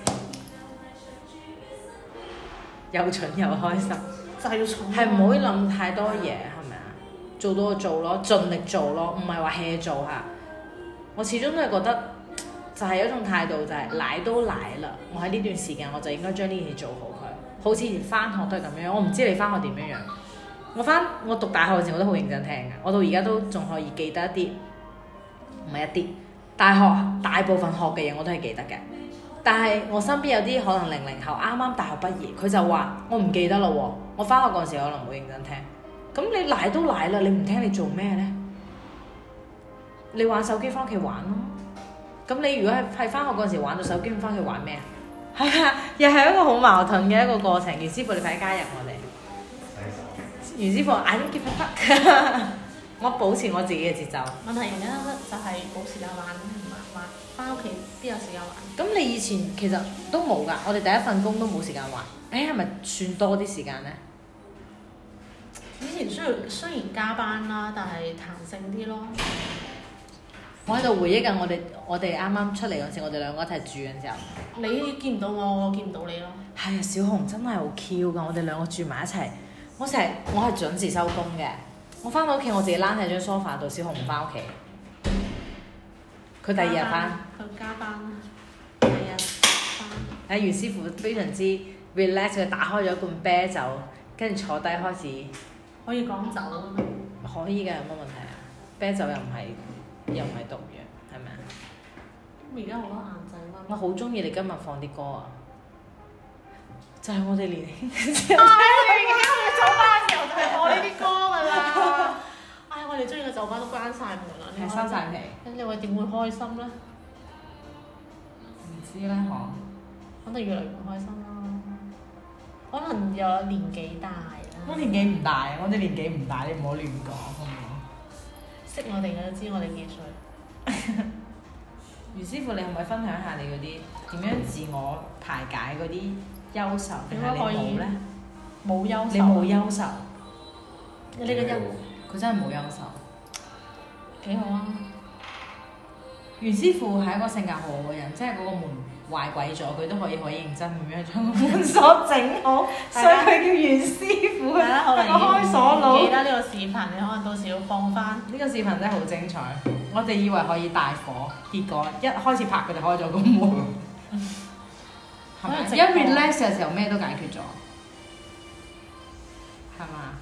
又蠢又開心， 就係要蠢。 係唔可以諗太多嘢，係咪啊？做到就做咯，盡力做咯，唔係話 hea 做嚇。我始終都係覺得，就係一種態度，就係賴都賴啦。我喺呢段時間，我就應該將呢件事做好佢。好似以前翻學都係咁樣，我唔知你翻學點樣樣。我讀大學嘅時候，我都好認真聽嘅。我到而家都仲可以記得一啲，唔係一啲大學大部分學嘅嘢我都係記得嘅。但係我身邊有啲可能00後啱啱大學畢業，佢就話我唔記得啦喎，我翻學嗰陣時可能冇認真聽。咁你賴都賴啦，你唔聽你做咩呢？你玩手機翻屋企玩咯。咁你如果係翻學嗰陣時玩到手機，咁翻去玩咩啊？係啊，又係一個好矛盾嘅一個過程。袁師傅，你快加入我哋。袁師傅，I don't give a fuck，我保持我自己嘅節奏。 問題而家就係冇時間玩，玩翻屋企邊有時間玩？ 咁你以前其實都冇㗎，我哋第一份工都冇時間玩。係咪算多啲時間呢？ 以前雖然加班啦，但係彈性啲咯。 我喺度回憶緊我哋啱啱出嚟嗰陣時，我哋兩個一齊住嘅時候。 你見唔到我，我見唔到你咯。 係啊，小紅真係好 Q 㗎，我哋兩個住埋一齊。我係準時收工嘅。我翻到屋企，我自己躝喺張 sofa 度，小紅唔翻屋企。佢第二日翻。 佢加班。第二日翻。 袁師傅非常之 relax，佢打開咗一罐啤酒，跟住坐低開始。 可以講酒啊嘛？ 可以㗎，有乜問題啊？啤酒又唔係毒藥，係咪啊？ 咁而家好多限制啦。 我好中意你今日放啲歌啊！就係我哋年輕嘅時候。 而家我哋酒吧嘅時候就係播呢啲歌㗎啦。我哋中意嘅酒吧都關晒門啦。 係收晒皮。 咁你話點會開心咧？ 唔知咧， 肯定越嚟越唔開心啦。可能又年紀大啦。 我年紀唔大，我哋年紀唔大，你唔好亂講，好唔好？ 識我哋嘅都知我哋幾歲。 袁師傅，你可唔可以分享下你嗰啲點樣自我排解嗰啲憂愁？定係你冇咧？ 冇憂愁。 你冇憂愁？ 你嘅憂， 佢真係冇憂愁。 幾好啊！ 袁師傅係一個性格好好嘅人，即係嗰個門壞鬼咗，佢都可以好認真咁樣將個門鎖整好，所以佢叫袁師傅。 大家可能開鎖佬。 記得呢個視頻，你可能到時要放翻。 呢個視頻真係好精彩，我哋以為可以大火，結果一開始拍佢哋開咗個門，係咪？一 relax 嘅時候咩都解決咗，係嘛？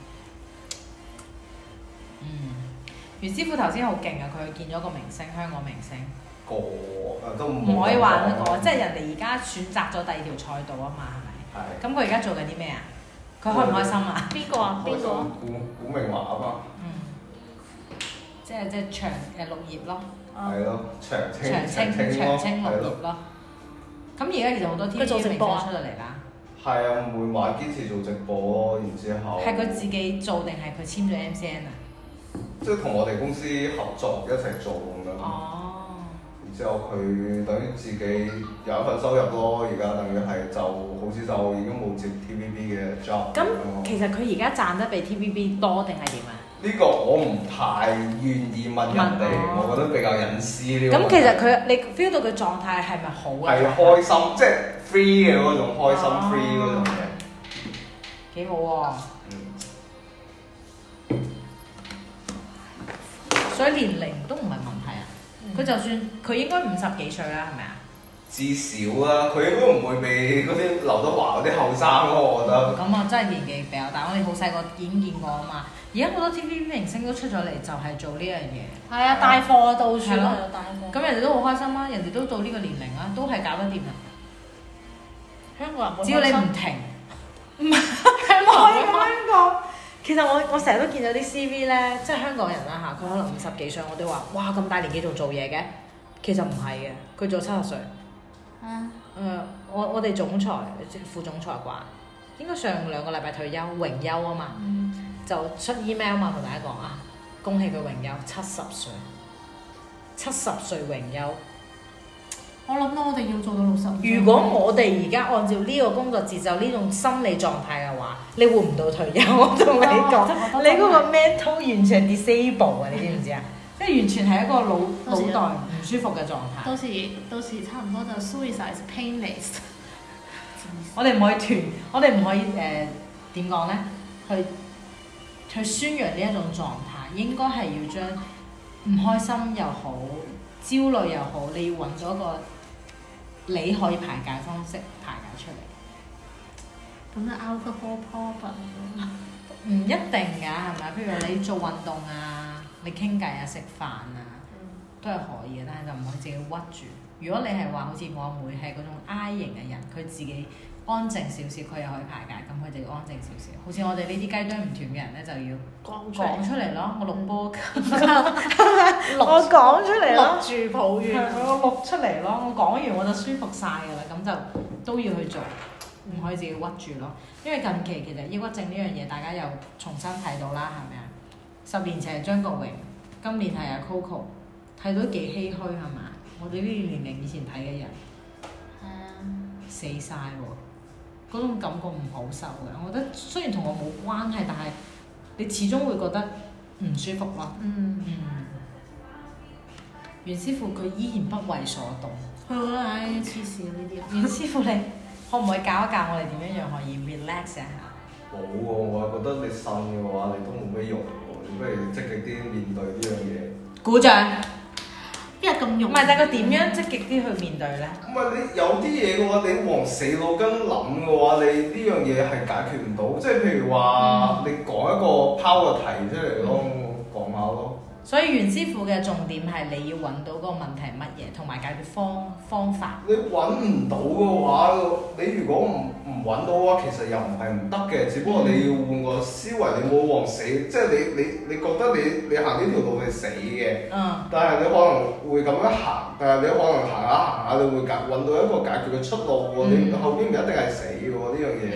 袁師傅頭先好勁啊！佢見咗個明星，香港明星。 都唔可以話一個，即係人哋而家選擇咗第二條賽道啊嘛，係咪？ 係。 咁佢而家做緊啲咩啊？佢開唔開心啊？ 邊個啊？邊個？ 古明華啊嘛。 即係長綠葉咯。 係咯，長青綠葉咯。咁而家其實好多 TV 明星出到嚟啦。 係啊，每晚堅持做直播，然之後。係佢自己做定係佢簽咗 MCN 啊？ 即係同我哋公司合作一齊做咁樣。 哦。 然之後佢等於自己有一份收入咯，而家等於係就好似就已經冇接 TVB 嘅 job。 咁其實佢而家賺得比 TVB 多定係點啊？ 呢個我唔太願意問人哋，我覺得比較隱私呢個。 咁其實你 feel 到佢狀態係咪好啊？ 係開心，即係 free 嘅嗰種開心 free 嗰種嘅。 幾好喎！所以年齡都唔係問題啊！佢就算佢應該50幾歲啦，係咪啊？ 至少啦，佢應該唔會比嗰啲劉德華嗰啲後生咯，我覺得。 咁啊，真係年紀比較大，我哋好細個已經見過啊嘛。而家好多 TVB 明星都出咗嚟，就係做呢樣嘢。 係啊，帶貨啊，到處都有帶貨。 咁人哋都好開心啦，人哋都到呢個年齡啦，都係搞得掂啊！ 香港人只要你唔停，唔係可以咁樣講。其實我成日都見到啲 CV 咧，即係香港人啦嚇，佢可能50幾歲，我哋話哇咁大年紀仲做嘢嘅，其實唔係嘅，佢做70歲。我哋總裁副總裁啩，應該上2個禮拜退休榮休啊嘛，就出 email 嘛同大家講啊，恭喜佢榮休70歲，70歲榮休。 我諗到我哋要做到60。 如果我哋而家按照呢個工作節奏、呢種心理狀態嘅話，你活唔到退休。我同你講，你嗰個 mental 完全係 disable 啊！你知唔知啊？即係完全係一個腦袋唔舒服嘅狀態。 到時差唔多就 suicide is painless。 我哋唔可以斷，我哋唔可以點講咧？去宣揚呢一種狀態，應該係要將唔開心又好、焦慮又好，你要揾咗一個你可以排解方式排解出嚟。 咁就 alcohol problem 唔一定㗎，係咪？譬如你做運動啊，你傾偈啊、食飯啊，都係可以嘅，但係就唔可以自己屈住。如果你係話好似我阿妹係嗰種 I 型嘅人，佢自己安靜少少，佢又可以排解，咁佢就要安靜少少。好似我哋呢啲雞啄唔斷嘅人咧，就要講出嚟咯。我錄波，我講出嚟咯， 錄住抱怨， 我錄出嚟咯。我講完我就舒服晒㗎啦，咁就都要去做，唔可以自己屈住咯。因為近期其實抑鬱症呢樣嘢，大家又重新睇到啦，係咪啊？10年前係張國榮，今年係阿 Coco， 睇到幾唏噓係嘛？我哋呢啲年齡以前睇嘅人，死晒喎，嗰種感覺唔好受嘅。我覺得雖然同我冇關係，但係你始終會覺得唔舒服咯。袁師傅佢依然不為所動。 佢覺得唉黐線呢啲。 袁師傅你可唔可以教一教我哋點樣可以 relax 一下？ 冇喎，我係覺得你呻嘅話，你都冇咩用喎。你不如積極啲面對呢樣嘢。 鼓掌。 邊有咁用？ 唔係，但係佢點樣積極啲去面對咧？ 唔係你有啲嘢嘅話，你往死腦筋諗嘅話，你呢樣嘢係解決唔到。即係譬如話，你講一個拋個題出嚟咯，講下咯。 所以袁師傅嘅重點係你要揾到嗰個問題乜嘢，同埋解決方法。 你揾唔到嘅話，你如果唔揾到嘅話，其實又唔係唔得嘅，只不過你要換個思維，你冇往死，即係你覺得你行呢條路係死嘅，但係你可能會咁樣行，但係你可能行下，你會揾到一個解決嘅出路喎。你後邊唔一定係死嘅喎，呢樣嘢。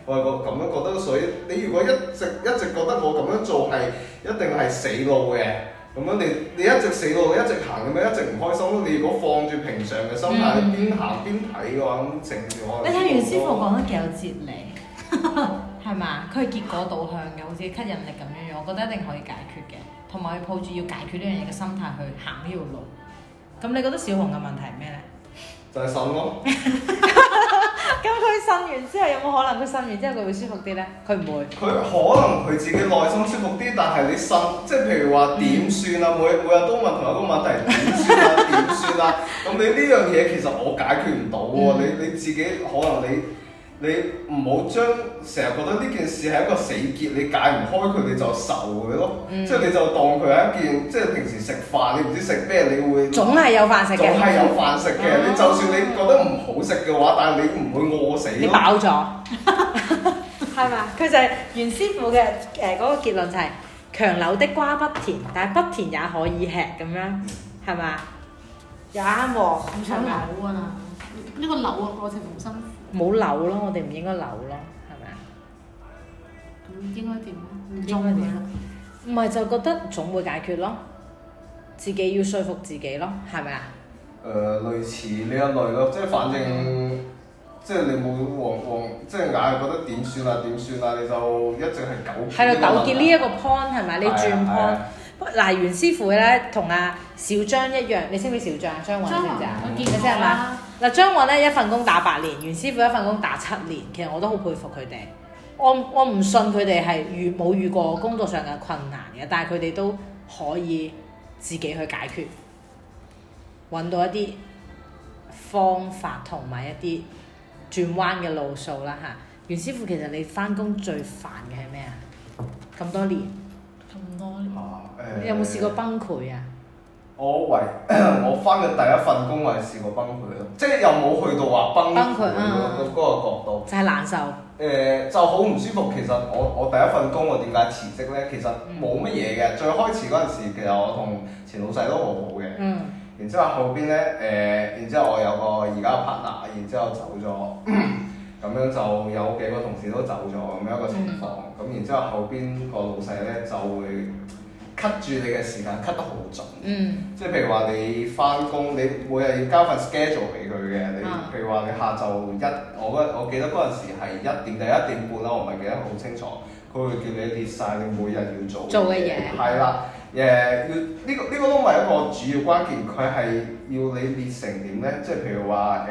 我係咁樣覺得，所以你如果一直覺得我咁樣做係一定係死路嘅，咁樣你一直死路一直行咁樣一直唔開心。你如果放住平常嘅心態，邊行邊睇嘅話，咁成住我。 你睇袁師傅講得幾有哲理，係嘛？佢係結果導向嘅，好似吸引力咁樣樣，我覺得一定可以解決嘅。同埋佢抱住要解決呢樣嘢嘅心態去行呢條路。咁你覺得小紅嘅問題係咩咧？ 就係呻咯。 咁佢呻完之後有冇可能佢呻完之後佢會舒服啲咧？佢唔會。 佢可能佢自己內心舒服啲，但係你呻，即係譬如話點算啊？每日都問同一個問題，點算啊？點算啊？咁你呢樣嘢其實我解決唔到喎。你自己可能你唔好將成日覺得呢件事係一個死結，你解唔開佢你就受佢咯。即係你就當佢係一件，即係平時食飯你唔知食咩，你會總係有飯食嘅。 總係有飯食嘅。你就算你覺得唔好食嘅話，但係你唔會餓死咯。 你飽咗，係嘛？佢就係袁師傅嘅嗰個結論就係強扭的瓜不甜，但係不甜也可以吃咁樣，係嘛？又啱喎， 唔想扭啊！呢個扭嘅過程好辛苦。 冇扭咯，我哋唔應該扭咯，係咪啊？ 咁應該點？唔應該點？唔係就覺得總會解決咯，自己要說服自己咯，係咪啊？ 類似呢一類咯，即係反正即係你冇即係硬係覺得點算啊點算啊，你就一直係糾結。 係啦，糾結呢一個 point 係咪？你轉 point。嗱，袁師傅咧同阿小張一樣，你識唔識小張？張雲知唔知啊？ 我見過係嘛？嗱，張雲咧一份工打8年，袁師傅一份工打7年，其實我都好佩服佢哋。我唔信佢哋係冇遇過工作上嘅困難嘅，但係佢哋都可以自己去解決，揾到一啲方法同埋一啲轉彎嘅路數啦嚇。袁師傅其實你翻工最煩嘅係咩啊？咁多年。 咁多年。 你有冇試過崩潰啊？ 我翻嘅第一份工，我係試過崩潰咯，即係又冇去到話崩潰嗰個角度， 就係難受。 就好唔舒服。其實我第一份工我點解辭職咧？其實冇乜嘢嘅。最開始嗰陣時，其實我同前老細都好好嘅。然之後後邊咧，然之後我有個而家嘅 partner，然之後走咗，咁樣就有幾個同事都走咗咁樣一個情況。咁然之後後邊個老細咧就會cut住你嘅時間cut得好準，即係譬如話你翻工，你每日要交份 schedule 俾佢嘅。你譬如話你下晝我記得嗰陣時係1點定1點半啦，我唔係記得好清楚。佢會叫你列晒你每日要做嘅嘢，係啦，要呢個都唔係一個主要關鍵，佢係要你列成點咧？即係譬如話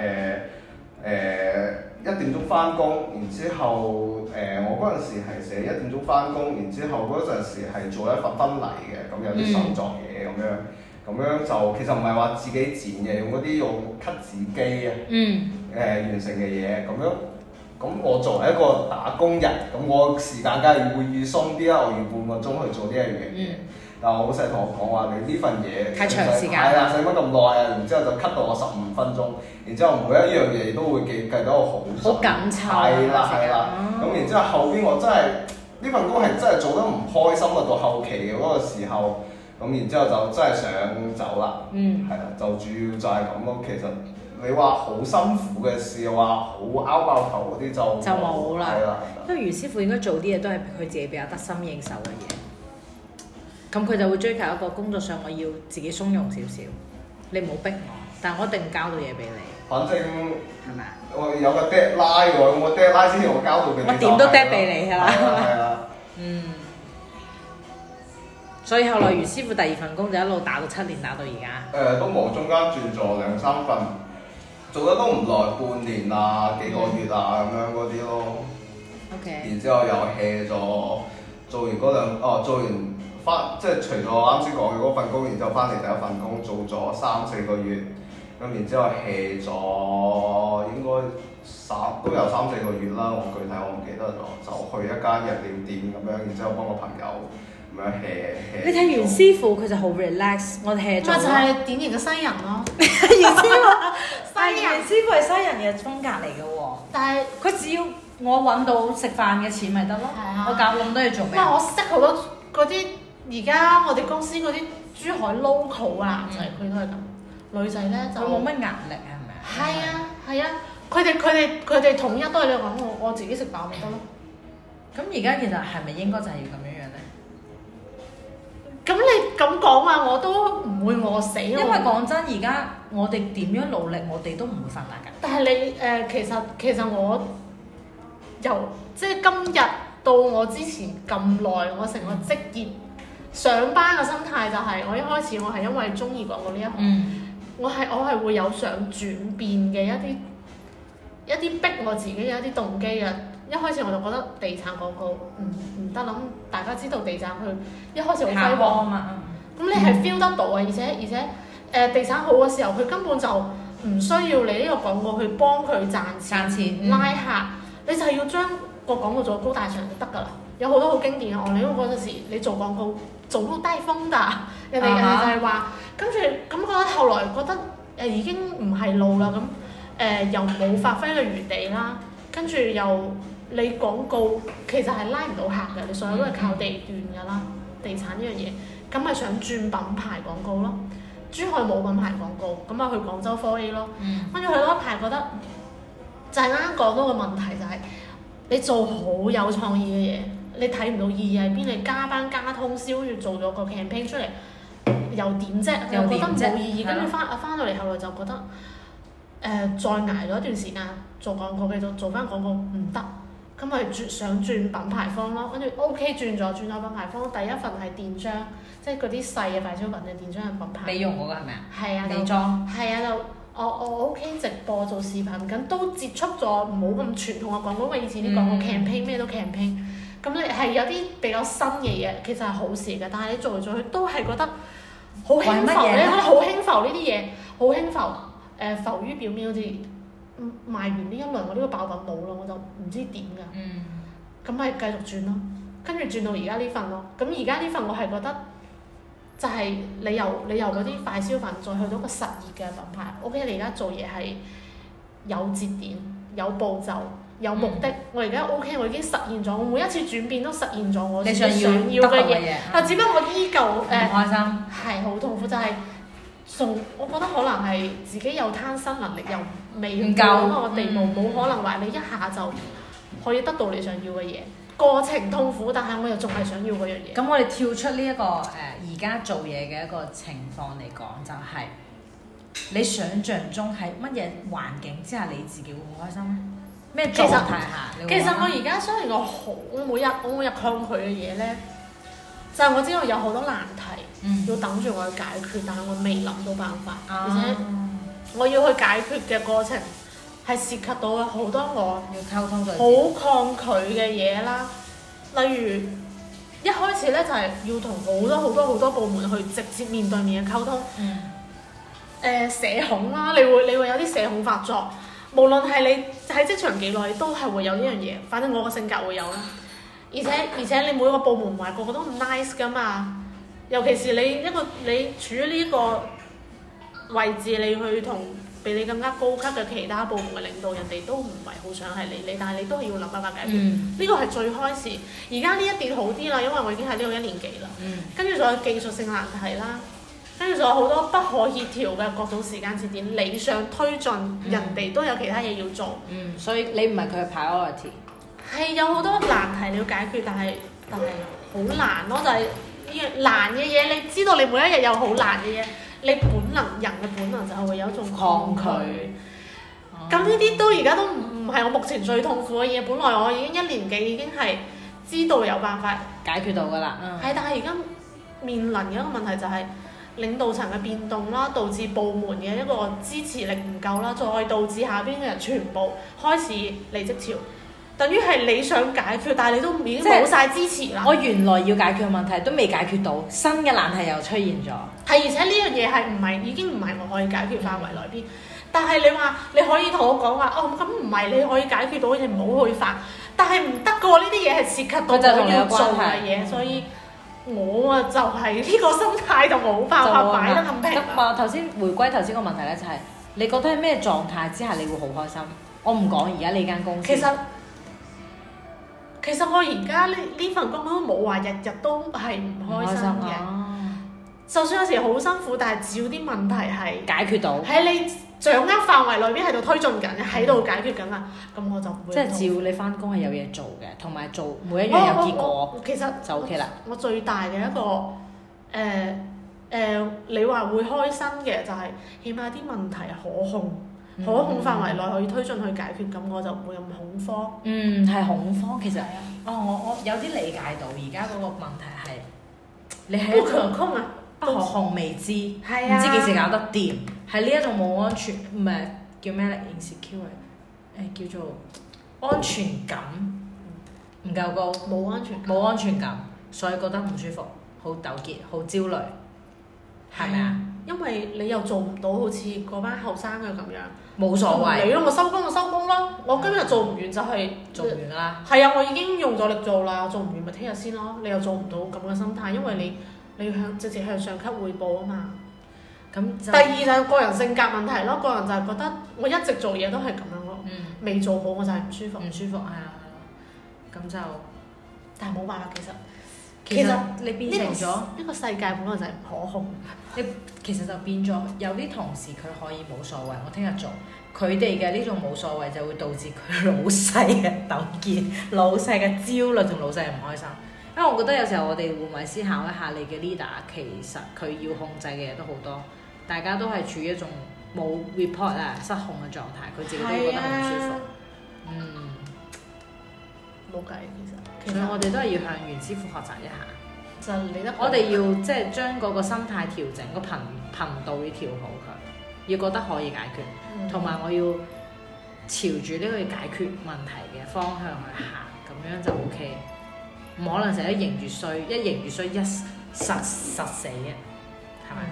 1點鐘翻工，然之後我嗰陣時係寫1點鐘翻工，然之後嗰陣時係做一份婚禮嘅，咁有啲手作嘢咁樣就其實唔係話自己剪嘅，用嗰啲用 cut 紙機啊，完成嘅嘢咁樣。咁我作為一個打工人，咁我時間梗係會預鬆啲啦，我預半個鐘去做呢一樣嘢。但係我老細同我講話，你呢份嘢太長時間， 係啦，使乜咁耐啊？然之後就 cut 到我15分鐘，然之後每一樣嘢都會計到我好緊湊。 係啦。咁然之後後邊我真係呢份工係真係做得唔開心啊！到後期嘅嗰個時候，咁然之後就真係想走啦。係啦，就主要就係咁咯。其實你話好辛苦嘅事，話好拗爆頭嗰啲就冇啦。 係啦， 因為袁師傅應該做啲嘢都係佢自己比較得心應手嘅嘢。咁佢就會追求一個工作上我要自己鬆容少少，你唔好逼我，但係我一定交到嘢俾你。 反正係咪啊？ 我有個 deadline 喎，咁我 deadline 之前我交到俾你。 我點都 dead 俾你係嘛？ 係啊。 所以後來袁師傅第2份工就一路打到7年，打到而家。 都冇，中間轉咗2-3份，做得都唔耐，半年啊，幾個月啊咁樣嗰啲咯。 OK。然之後又 hea 咗，做完做完翻，即係除咗啱先講嘅嗰份工，然之後翻嚟第一份工做咗3-4個月，咁然之後 hea 咗應該都有3-4個月啦，我具體我唔記得咗，就去一間日料店咁樣，然之後幫個朋友咁樣 hea。 你睇袁師傅佢就好 relax， 我 hea 咗。 咪就係典型嘅西人咯。 袁師傅，袁師傅係西人嘅風格嚟嘅喎。但係佢只要我揾到食飯嘅錢咪得咯。我搞咁多嘢做咩？ 我識好多嗰啲而家我哋公司嗰啲珠海 local 啊男仔，佢都係咁。女仔咧就佢冇乜壓力係咪啊？ 係啊， 佢哋統一都係你講我自己食飽咪得咯。 咁而家其實係咪應該就係要咁樣樣咧？ 咁你咁講話我都唔會餓死。因為講真，而家我哋點樣努力，我哋都唔會發達㗎。 但係你其實我由即係今日到我之前咁耐，我成個職業上班嘅心態就係、我一開始我係因為中意廣告呢一行，我係會有想轉變嘅一啲逼我自己嘅一啲動機嘅。一開始我就覺得地產廣告唔得，諗大家知道地產佢一開始好輝煌啊嘛，咁你係 feel 得到啊，而且地產好嘅時候，佢根本就唔需要你呢個廣告去幫佢賺錢拉客，你就係要將個廣告做高大上就得㗎啦。有好多好經典嘅案例，因為嗰陣時你做廣告做到低風㗎，人哋就係話，跟住咁覺得後來覺得已經唔係路啦，咁又冇發揮嘅餘地啦，跟住又。你廣告其實係拉唔到客嘅，你所有都係靠地段㗎啦，地產呢樣嘢，咁咪想轉品牌廣告咯。珠海冇品牌廣告，咁啊去廣州 4A 咯，跟住去到一排覺得就係啱啱講到個問題就係、你做好有創意嘅嘢，你睇唔到意義喺邊，你加班加通宵要做咗個 campaign 出嚟，又點啫？又覺得冇意義，跟住翻到嚟後來就覺得再捱咗一段時間做廣告，繼續做翻廣告唔得。咁咪想轉品牌方咯，跟住 OK 轉咗品牌方，第一份係電商，即係嗰啲細嘅快消品嘅電商嘅品牌。你用嗰個係咪啊？係啊，美妝。係啊，就我 OK 直播做視頻，咁都接觸咗冇咁傳統嘅廣告，因為以前啲廣告 campaign 咩都 campaign，咁你係有啲比較新嘅嘢，其實係好事嘅，但係你做嚟做去都係覺得好輕浮，你覺得好輕浮呢啲嘢，好輕浮，浮於表面好似。賣完呢一輪，我呢個爆品冇咯，我就唔知點㗎。咁咪繼續轉咯，跟住轉到而家呢份咯。咁而家呢份我係覺得，就係你由嗰啲快消品再去到個實業嘅品牌。OK，你而家做嘢係有節點、有步驟、有目的。我而家 OK，我已經實現咗，我每一次轉變都實現咗我想要嘅嘢。但只不過我依舊唔開心，係好痛苦，就係。我覺得可能係自己有攤身能力又未到嗰個地步，冇可能話你一下就可以得到你想要嘅嘢。過程痛苦，但係我又仲係想要嗰樣嘢。咁我哋跳出呢一個而家做嘢嘅一個情況嚟講，就係你想像中喺乜嘢環境之下你自己會好開心？咩狀態下？其實我而家雖然我每日抗拒嘅嘢咧。就係我知道有好多難題要等住我去解決，但係我未諗到辦法，而且我要去解決嘅過程係涉及到好多我要溝通好抗拒嘅嘢啦。例如一開始咧就係要同好多部門去直接面對面嘅溝通，社恐啦，你會有啲社恐發作，無論係你喺職場幾耐，都係會有呢樣嘢。反正我個性格會有啦。而且你每個部門唔係個個都咁 nice 噶嘛，尤其是你處於呢個位置，你去同比你更加高級嘅其他部門嘅領導，人哋都唔係好想係你，但係你都係要諗辦法解決。呢個係最開始。而家呢一點好啲啦，因為我已經喺呢度1年幾啦。跟住仲有技術性難題啦，跟住仲有好多不可協調嘅各種時間節點，你想推進，人哋都有其他嘢要做。所以你唔係佢嘅 priority。係有好多難題你要解決，但係好難咯，就係難嘅嘢，你知道你每一日有好難嘅嘢，你人嘅本能就係會有一種抗拒。咁呢啲都而家都唔係我目前最痛苦嘅嘢，本來我已經1年幾已經係知道有辦法解決到㗎啦。係，但係而家面臨嘅一個問題就係領導層嘅變動啦，導致部門嘅一個支持力唔夠啦，再導致下邊嘅人全部開始離職潮。等於係你想解決，但係你都已經冇晒支持啦。我原來要解決嘅問題都未解決到，新嘅難題又出現咗。係，而且呢樣嘢係已經唔係我可以解決範圍內邊。但係你話你可以同我講話，咁唔係你可以解決到，你唔好去煩。但係唔得㗎喎，呢啲嘢係涉及到我要做嘅嘢，所以我就係呢個心態就冇辦法擺得咁平。咁頭先回歸頭先個問題咧，就係你覺得係咩狀態之下你會好開心？我唔講而家呢間公司。其實我而家呢份工都冇話日日都係唔開心嘅，就算有時好辛苦，但係只要啲問題係解決到，係你掌握範圍裏邊喺度推進緊，喺度解決緊啦，咁我就唔會。 即係只要你翻工係有嘢做嘅，同埋做每一樣有結果， 其實就 OK 啦。 我最大嘅一個你話會開心嘅就係起碼啲問題可控，可控範圍內可以推進去解決，咁我就唔會咁恐慌。 係恐慌，其實我有啲理解到而家嗰個問題係你係不可控啊， 不可控未知，唔係知幾時搞得掂，係呢一種冇安全，唔係叫咩咧 insecure，叫做安全感唔夠高，冇安全感，所以覺得唔舒服，好糾結，好焦慮，係咪啊？ 因為你又做唔到好似嗰班後生嘅咁樣， 冇所謂。 你咯，我收工就收工咯。我今日做唔完就係做完㗎啦。 係啊，我已經用咗力做啦，做唔完咪聽日先咯。你又做唔到咁嘅心態，因為你要直接向上級彙報啊嘛。 咁第二就係個人性格問題咯，個人就係覺得我一直做嘢都係咁樣咯，未做好我就係唔舒服。 唔舒服係啊，咁就但係冇辦法， 其實你變成咗呢個世界本來就係唔可控。 你其實就變咗有啲同事佢可以冇所謂，我聽日做，佢哋嘅呢種冇所謂就會導致佢老細嘅糾結、老細嘅焦慮同老細唔開心。因為我覺得有時候我哋換位思考一下，你嘅 leader 其實佢要控制嘅嘢都好多，大家都係處於一種冇 report 失控嘅狀態，佢自己都覺得好唔舒服。 冇計其實。 所以我哋都係要向袁師傅學習一下。 就理得我哋要即係將嗰個心態調整，個頻道要調好佢，要覺得可以解決，同埋我要朝住呢個解決問題嘅方向去行，咁樣就 OK。唔可能成日都迎住衰，一迎住衰一實死嘅，係咪？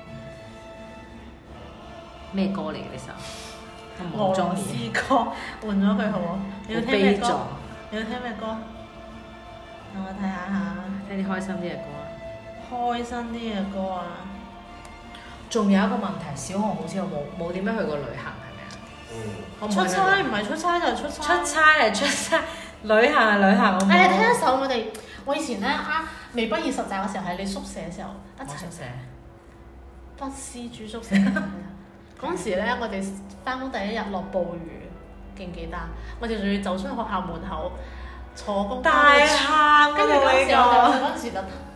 咩歌嚟嘅呢首？我唔中意。 歌換咗佢好唔好？你要聽咩歌？你要聽咩歌？等我睇下聽啲開心啲嘅歌。 開心啲嘅歌啊！ 仲有一個問題，小紅好似冇點樣去過旅行，係咪啊？ 出差唔係出差就係出差。 出差係出差，旅行係旅行。 係啊，聽一首我以前咧未畢業實習嘅時候喺你宿舍嘅時候一齊。 宿舍。 北師主宿舍。嗰陣時咧，我哋翻工第一日落暴雨，記唔記得？我哋仲要走出學校門口。坐公交大喊， 跟住嗰陣時就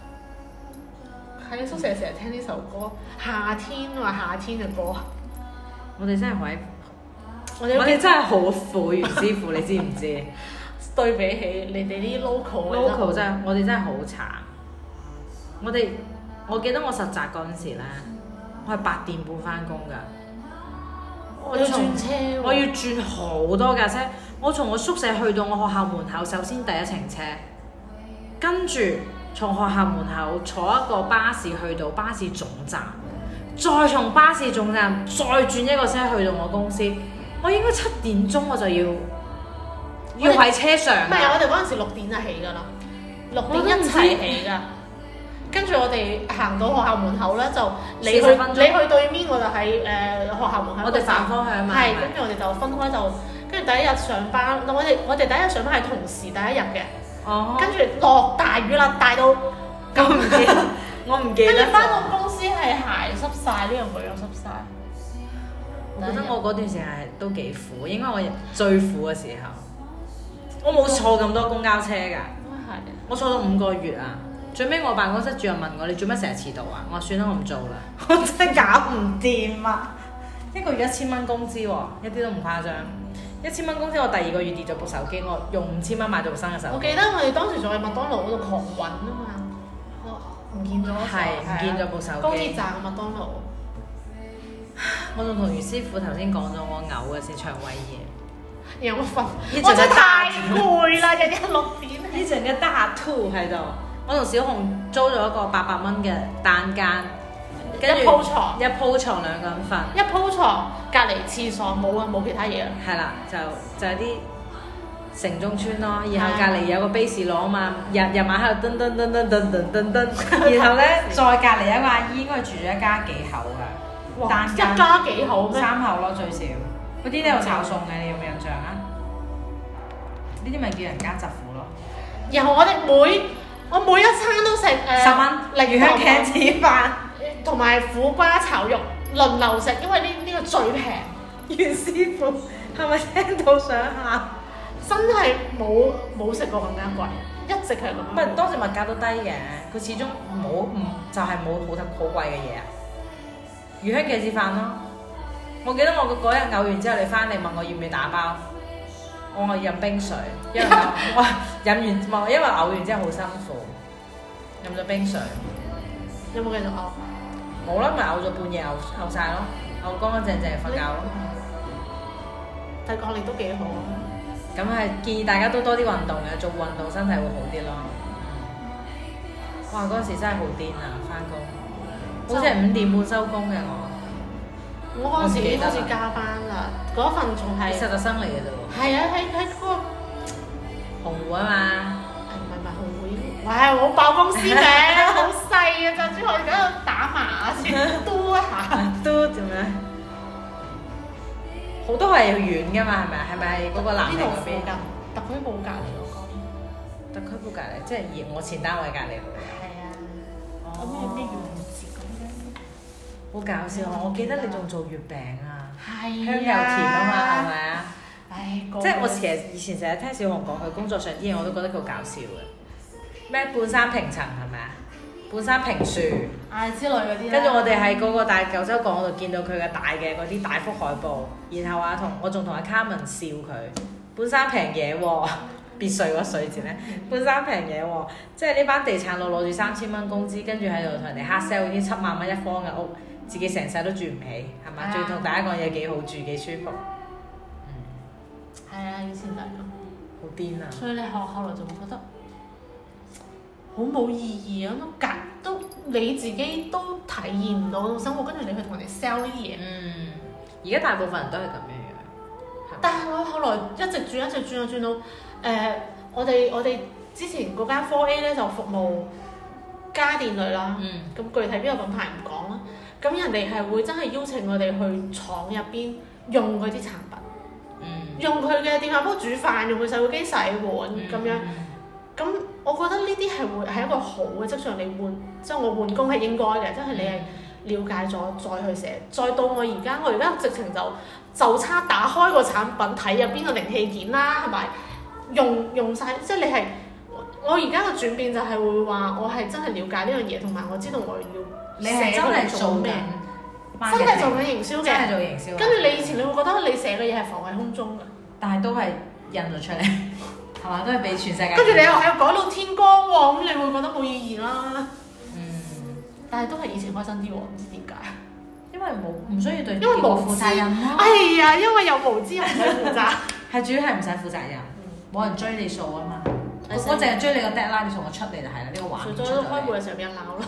喺宿舍成日聽呢首歌，夏天嘅歌。 我哋真係我哋真係好苦，袁師傅，你知唔知？ 對比起你哋啲 local 真係，我哋真係好慘。我記得我實習嗰陣時咧，我係8點半翻工㗎。 我要轉車喎。 我要轉好多架車。我從我宿舍去到我學校門口，首先第一程車，跟住從學校門口坐一個巴士去到巴士總站，再從巴士總站再轉一個車去到我公司。我應該7點鐘我就要喺車上。 唔係，我哋嗰陣時6點就起㗎啦，6點一齊起㗎。跟住我哋行到學校門口咧，就你去對面，我就喺學校門口。 我哋反方向嘛。 係，跟住我哋就分開就。跟住第一日上班，我哋第一日上班係同時第一日嘅。哦。跟住落大雨啦，大到咁唔記得， 我唔記得。 跟住翻到公司係鞋濕晒，呢樣嗰樣濕晒。 我覺得我嗰段時間都幾苦，應該我最苦嘅時候。我冇坐咁多公交車㗎。係。我坐咗5個月啊！最尾我辦公室主任問我：你做咩成日遲到啊？我話算啦，我唔做啦。我真係搞唔掂啊！一個月1000蚊工資喎，一啲都唔誇張。1000蚊工資，我第2個月跌咗部手機，我用5000蚊買咗部新嘅手機。 我記得我哋當時仲喺麥當勞嗰度狂揾啊嘛，唔見咗。 係唔見咗部手機。 高鐵站麥當勞。 我仲同袁師傅頭先講咗我嘔嘅是腸胃炎。 有瞓。我真係太攰啦！日日6點。 呢陣嘅大吐喺度。我同小紅租咗一個800蚊嘅單間。 一鋪床 2個人瞓。 一鋪床，隔離廁所冇其他嘢啦。 係啦，就係啲城中村咯，然後隔離有個 base 攞啊嘛，日晚喺度噔，然後咧再隔離有個阿姨應該住咗1家幾口㗎，單間 1家幾口咩 ？3口咯最少，嗰啲咧有炒餸嘅，你有冇印象啊？呢啲咪叫人家疾苦咯。 然後我每一餐都食10 蚊，魚香茄子飯。 同埋苦瓜炒肉， 輪流食，因為呢個最平。 袁師傅係咪聽到想喊？ 真係冇食過更加貴，一直係咁。 唔係當時物價都低嘅，佢始終就係冇好貴嘅嘢啊。魚香茄子飯咯，我記得我嗰日嘔完之後，你翻嚟問我要唔要打包，我話要飲冰水，因為我飲完因為嘔完之後好辛苦，飲咗冰水。 有冇繼續嘔？ 冇啦，咪嘔咗半夜嘔晒咯，嘔乾乾淨淨瞓覺咯。 抵抗力都幾好啊！ 咁係建議大家都多啲運動嘅，做運動身體會好啲咯。哇！嗰陣時真係好癲啊，翻工，好似係5點半收工嘅我。 我嗰陣時已經開始加班啦，嗰份仲係實習生嚟嘅啫喎。 係啊，喺嗰個紅湖啊嘛。 唔係紅湖，哇！我爆公司名，好細啊！就珠海而家度打麻先，嘟一下， 嘟點樣？好多係要遠㗎嘛，係咪？係咪嗰個南平嗰邊？ 特區冇隔離嗰個。 特區冇隔離，即係我前單位隔離。 係啊。咩月餅節咁樣？ 好搞笑！我記得你仲做月餅啊， 係香又甜啊嘛，係咪啊？ 唉， 即係我其實以前成日聽小紅講佢工作上啲嘢，我都覺得佢好搞笑嘅。咩半山平層係咪啊？半山平樹之類嗰啲。 跟住我哋喺嗰個大九州港嗰度見到佢嘅大嘅嗰啲大幅海報，然後我仲同阿 Carmen 笑佢半山平嘢喎，別墅嗰水字咧，半山平嘢喎，即係呢班地產佬攞住3000蚊工資，跟住喺度同人哋 hard sell 啲7萬蚊一方嘅屋，自己成世都住唔起，係嘛？仲要同大家講嘢幾好住幾舒服。 係啊，以前就係咁。 好癲啊！ 所以你後來就會覺得好冇意義啊！都你自己都體驗唔到嗰種生活，跟住你去同人哋 sell 呢啲嘢。 而家大部分人都係咁樣樣。 但係我後來一直轉到我哋之前嗰間 4A 咧就服務家電類啦。咁具體邊個品牌唔講啦。咁人哋係會真係邀請我哋去廠入邊用佢啲產品。用佢嘅電飯煲煮飯，用佢洗碗機洗碗咁樣。咁我覺得呢啲係一個好嘅跡象，即係我換工係應該嘅，即係你係了解咗再去寫，再到我而家直情就差打開個產品睇入邊個零器件啦，係咪用晒？即係你係我而家嘅轉變就係會話我係真係了解呢樣嘢，同埋我知道我要寫佢做咩，真係做緊營銷嘅， 真係做營銷。 跟住你以前你會覺得你寫嘅嘢係浮喺空中㗎， 但係都係印咗出嚟。係嘛？都係俾全世界。 跟住你又喺度改到天光喎，咁你會覺得冇意義啦。但係都係以前開心啲喎，唔知點解。 因為唔需要對因為無負責任咯。 哎呀，因為有無知又唔使負責。 係主要係唔使負責任，冇人追你數啊嘛。我淨係追你個 deadline，你同我出嚟就係啦，呢個畫面出咗嚟。除咗開會嘅時候俾人鬧咯。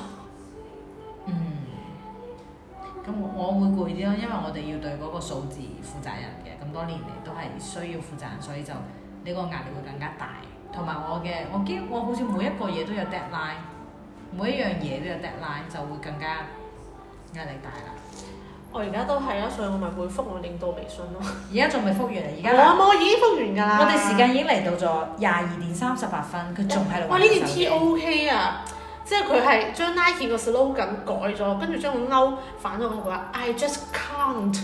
咁我會攰啲咯，因為我哋要對嗰個數字負責任嘅，咁多年嚟都係需要負責任，所以就。呢個壓力會更加大，同埋我好似每一個嘢都有 deadline，每一樣嘢都有 deadline，就會更加壓力大啦。 我而家都係啊，所以我咪會覆我領導微信咯。 而家仲未覆完啊！而家我已經覆完㗎啦。 我哋時間已經嚟到咗22:38，佢仲喺度。 哇！呢件 T OK 啊，即係佢係將 Nike 個 slogan 改咗，跟住將個勾反咗佢話 I just can't。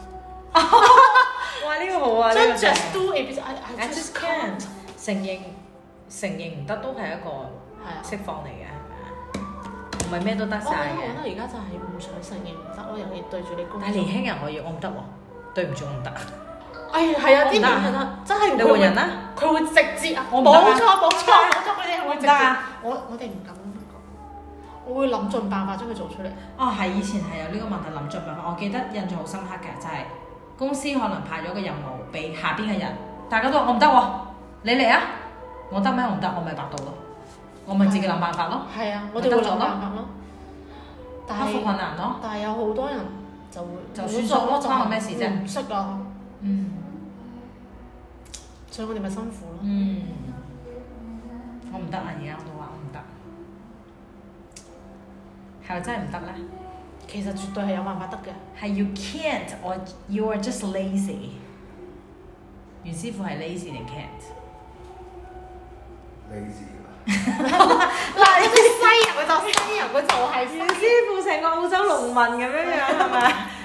哇！呢個好啊！ 將 just do it，I just can't。 承認唔得都係一個釋放嚟嘅，係咪啊？唔係咩都得晒嘅。 我覺得而家就係唔想承認唔得咯，尤其對住你工作。 但係年輕人可以，我唔得喎，對唔住我唔得。 哎呀，係啊，啲年輕人真係你換人啦， 佢會直接啊！ 我唔得啊！ 冇錯，佢哋係會直接。我哋唔敢咁講，我會諗盡辦法將佢做出嚟。 係以前係有呢個問題，諗盡辦法。我記得印象好深刻嘅就係。公司可能派咗個任務俾下邊嘅人，大家都話我唔得喎，你嚟啊！我得咩？我唔得，我咪百度咯，我咪自己諗辦法咯。 係啊，我哋會諗辦法咯。 克服困難咯。 但係有好多人就會就算數咯，關我咩事啫？ 唔識啊。所以我哋咪辛苦咯。 我唔得啊！而家我都話我唔得，係咪真係唔得咧？ 其實絕對係有辦法得嘅。 係 you can't or you are just lazy。袁師傅係 lazy 定 can't？lazy 嗱，你啲西人佢就係袁師傅， 成個澳洲農民咁樣樣係咪？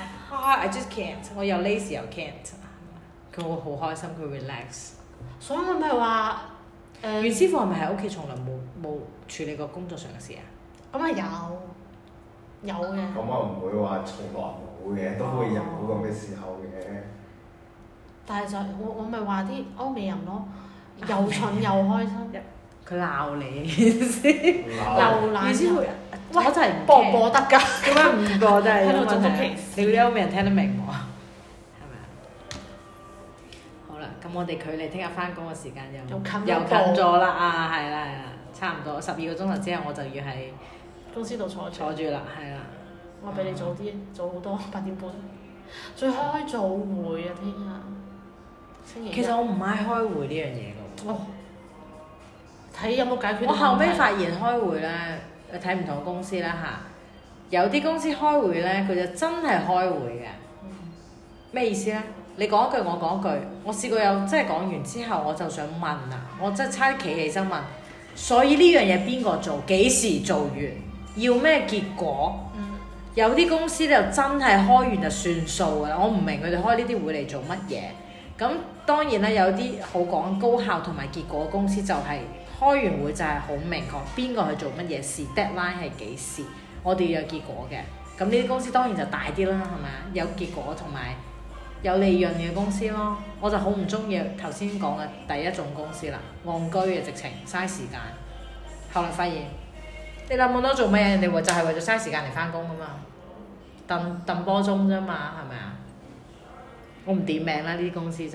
I just can't， 我又 lazy 又 can't， 佢會好開心，佢 relax。 所以我咪話袁師傅係咪喺屋企從來冇處理過工作上嘅事啊？ 咁啊有嘅。 咁啊唔會話從來冇嘅，都會有咁嘅時候嘅。 但係就我咪話啲歐美人咯，又蠢又開心。 佢鬧你先， 鬧懶袁師傅，我真係唔播得㗎。 點解唔播真係有問題？你嗰啲歐美人聽得明喎，係咪啊？好啦，咁我哋距離聽日翻工嘅時間又近咗啦啊！係啦，差唔多12個鐘頭之後我就要喺公司度坐住啦，係啦。 我比你早啲，早好多8點半。最開早會啊！聽日星期一。 其實我唔愛開會呢樣嘢㗎喎。 睇有冇解決？ 我後尾發現開會咧，睇唔同公司啦嚇，有啲公司開會咧，佢就真係開會嘅。咩意思咧？你講一句，我講一句。我試過有即係講完之後，我就想問啊，我真係差啲企起身問。所以呢樣嘢邊個做？幾時做完？要咩結果？有啲公司咧就真係開完就算數㗎啦。我唔明佢哋開呢啲會嚟做乜嘢。咁當然啦，有啲好講高效同埋結果嘅公司就係、開完會就係好明確邊個去做乜嘢事 ，deadline 係幾時，我哋要有結果嘅。咁呢啲公司當然就大啲啦，係咪啊？有結果同埋有利潤嘅公司咯。我就好唔中意頭先講嘅第一種公司啦，戇居嘅直情嘥時間。後來發現你諗咁多做咩？人哋就係為咗嘥時間嚟翻工噶嘛，揼波鐘啫嘛，係咪啊？我唔點名啦，呢啲公司就。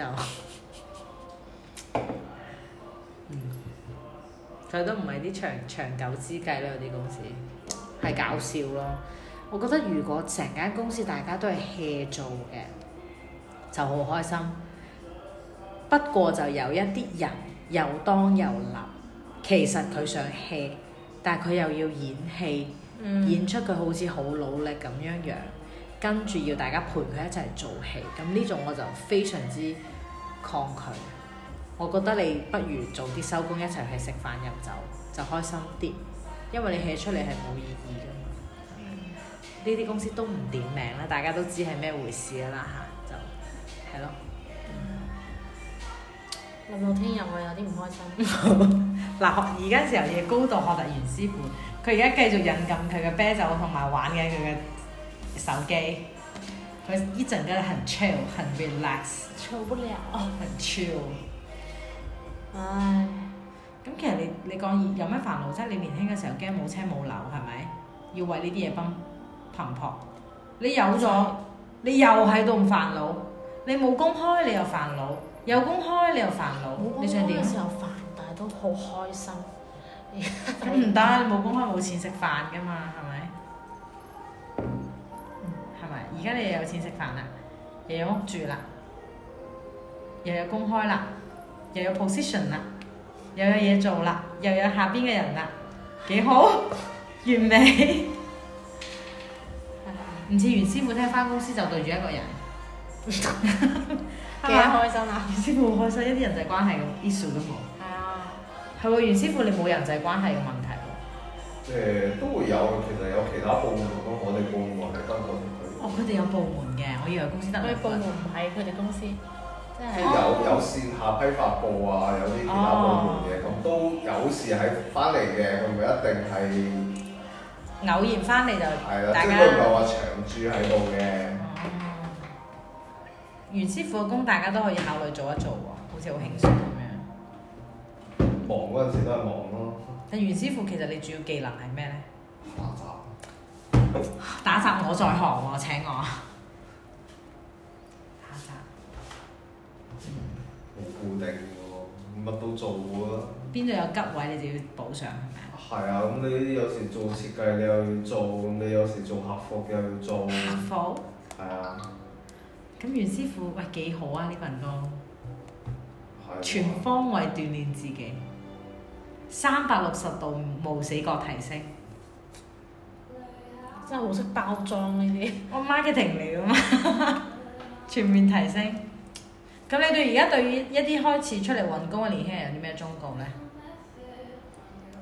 佢都唔係啲長久之計咯，有啲公司係搞笑咯。我覺得如果成間公司大家都係 hea 做嘅，就好開心。不過就有一啲人又當又立，其實佢想 hea，但係佢又要演戲，演出佢好似好努力咁樣，跟住要大家陪佢一齊做戲。咁呢種我就非常之抗拒。我覺得你不如早啲收工，一齊去食飯飲酒，就開心啲。因為你 hea 出嚟係冇意義㗎嘛。呢啲公司都唔點名啦，大家都知係咩回事啦嚇，就係咯。 諗到聽日我有啲唔開心。 嗱，而家時候要高度學習袁師傅，佢而家繼續引撳佢嘅啤酒同埋玩緊佢嘅手機。佢一整個很 chill， 很 relax。 受不了。 很 chill。 唉， 咁其實你講有咩煩惱啫？你年輕嘅時候驚冇車冇樓係咪？要為呢啲嘢頻撲。你有咗，你又喺度煩惱。你冇公開，你又煩惱；有公開，你又煩惱。你想點？ 嗰時候煩，但係都好開心。 咁唔得，你冇公開冇錢食飯㗎嘛，係咪？係咪？而家你又有錢食飯啦，又有屋住啦，又有公開啦。又有 position 啦，又有嘢做啦，又有下邊嘅人啦，幾好，完美。唔似袁師傅聽翻公司就對住一個人， 幾開心啊！ 袁師傅好開心，一啲人際關係嘅 issue 都冇。 係啊。 係喎，袁師傅你冇人際關係嘅問題喎。 都會有，其實有其他部門咯，我哋部門係得我哋佢。 哦，佢哋有部門嘅，我以為公司得兩個。 佢部門唔係佢哋公司。即係有線下批發部啊，有啲其他部門嘅，咁都有時係翻嚟嘅，佢唔一定係偶然翻嚟就大家。 即係佢唔係話長住喺度嘅。 袁師傅嘅工大家都可以考慮做一做喎，好似好輕鬆咁樣。 忙嗰陣時都係忙咯。 但袁師傅其實你主要技能係咩咧？ 打雜。 打雜我在行喎，請我。 好固定喎，乜都做㗎啦。 邊度有吉位你就要補上係咪啊？ 係啊，咁你有時做設計你又要做，咁你有時做客服又要做。 客服？ 係啊。 咁袁師傅喂幾好啊呢份工， 係。 全方位鍛鍊自己，360度無死角提升。 真係好識包裝呢啲。 我 marketing 嚟㗎嘛，全面提升。咁你對而家對於一啲開始出嚟揾工嘅年輕人有啲咩忠告咧？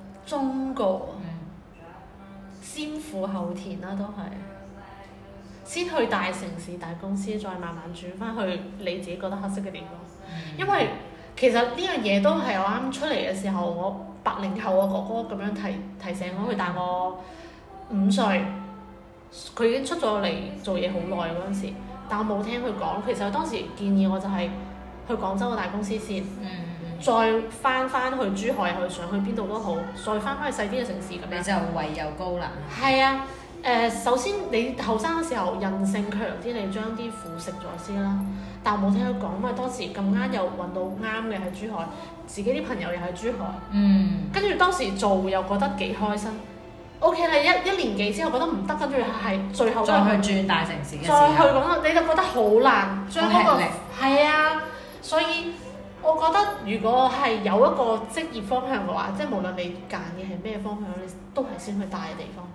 忠告先苦後甜啦，都係。 先去大城市大公司，再慢慢轉翻去你自己覺得合適嘅地方。因為其實呢樣嘢都係我啱出嚟嘅時候，我80後嘅哥哥咁樣提醒我，佢大我5歲，佢已經出咗嚟做嘢好耐嗰陣時，但我冇聽佢講。其實佢當時建議我就係去廣州嘅大公司先，再翻去珠海，去上去邊度都好，再翻去細啲嘅城市咁樣。 你就位又高啦。 係啊，首先你後生嘅時候韌性強啲，你將啲苦食咗先啦。但我冇聽佢講，因為當時咁啱又揾到啱嘅喺珠海，自己啲朋友又喺珠海。跟住當時做又覺得幾開心。O.K. 啦，一年幾之後覺得唔得，跟住係最後再去轉大城市嘅時候， 再去講，你就覺得好難將嗰個係啊，所以我覺得如果係有一個職業方向嘅話，即係無論你揀嘅係咩方向，你都係先去大嘅地方，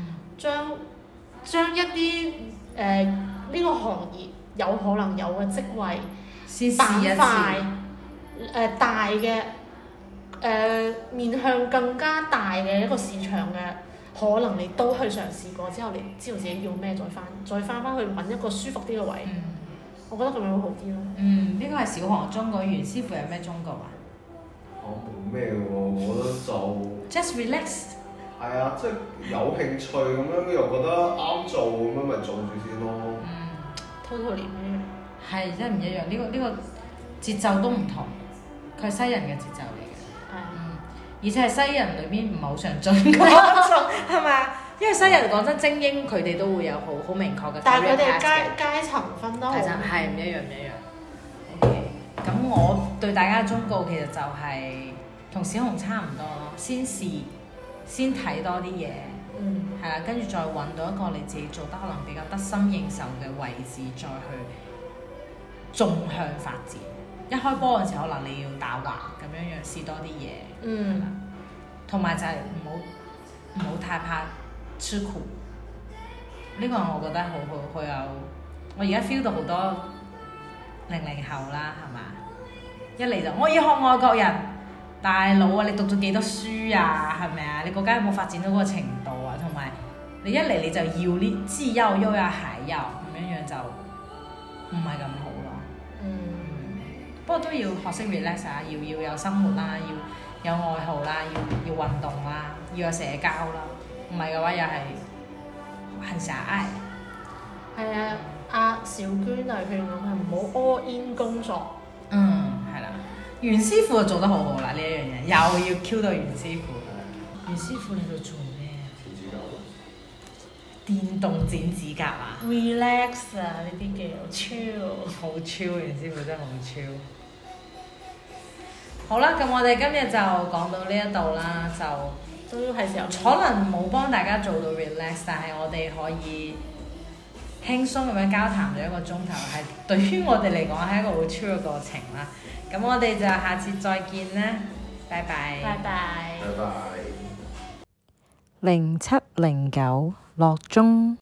將一啲呢個行業有可能有嘅職位板塊大嘅面向更加大嘅一個市場嘅。可能你都去嘗試過之後，你知道自己要咩，再翻去揾一個舒服啲嘅位。我覺得咁樣會好啲咯。 呢個係小學忠告，袁師傅有咩忠告啊？ 我冇咩喎，我覺得就 just relax。 係啊，即係有興趣咁樣，又覺得啱做咁樣，咪做住先咯。 totally 唔一樣。 係真係唔一樣，呢個節奏都唔同，佢係西人嘅節奏嚟嘅。而且係西人裏邊唔係好常進嗰種，係咪？因為西人講真精英，佢哋都會有好明確嘅。 但係佢哋階層分得好。 係唔一樣。OK，咁我對大家嘅忠告其實就係同小紅差唔多咯，先試，先睇多啲嘢，係啦，跟住再揾到一個你自己做得可能比較得心應手嘅位置，再去縱向發展。一開波嘅時候，可能你要打橫咁樣試多啲嘢，同埋就係唔好太怕吃苦。呢個我覺得好有，我而家 feel 到好多00後啦，係嘛？一嚟就我要學外國人，大佬啊！你讀咗幾多書啊？係咪啊？你國家有冇發展到嗰個程度啊？同埋你一嚟你就要呢既要又要還要咁樣就唔係咁好咯。不過都要學識 relax 啊，要有生活啦，要有愛好啦，要運動啦，要有社交啦，唔係嘅話又係很狹隘。 係啊，阿小娟就係勸我係唔好 all in 工作。 係啦，袁師傅就做得好好啦呢一樣嘢，又要 Q 到袁師傅。袁師傅你度做咩啊？剪指甲。電動剪指甲啊 ？relax 啊，呢啲叫 chill。 好 chill， 袁師傅真係好 chill。好啦，咁我哋今日就講到呢一度啦，就都係時候。 可能冇幫大家做到 relax， 但係我哋可以輕鬆咁樣交談咗1個鐘頭，係對於我哋嚟講係一個好 chill 嘅過程啦。咁我哋就下次再見啦，拜拜。 拜拜。 拜拜。 0709落鐘。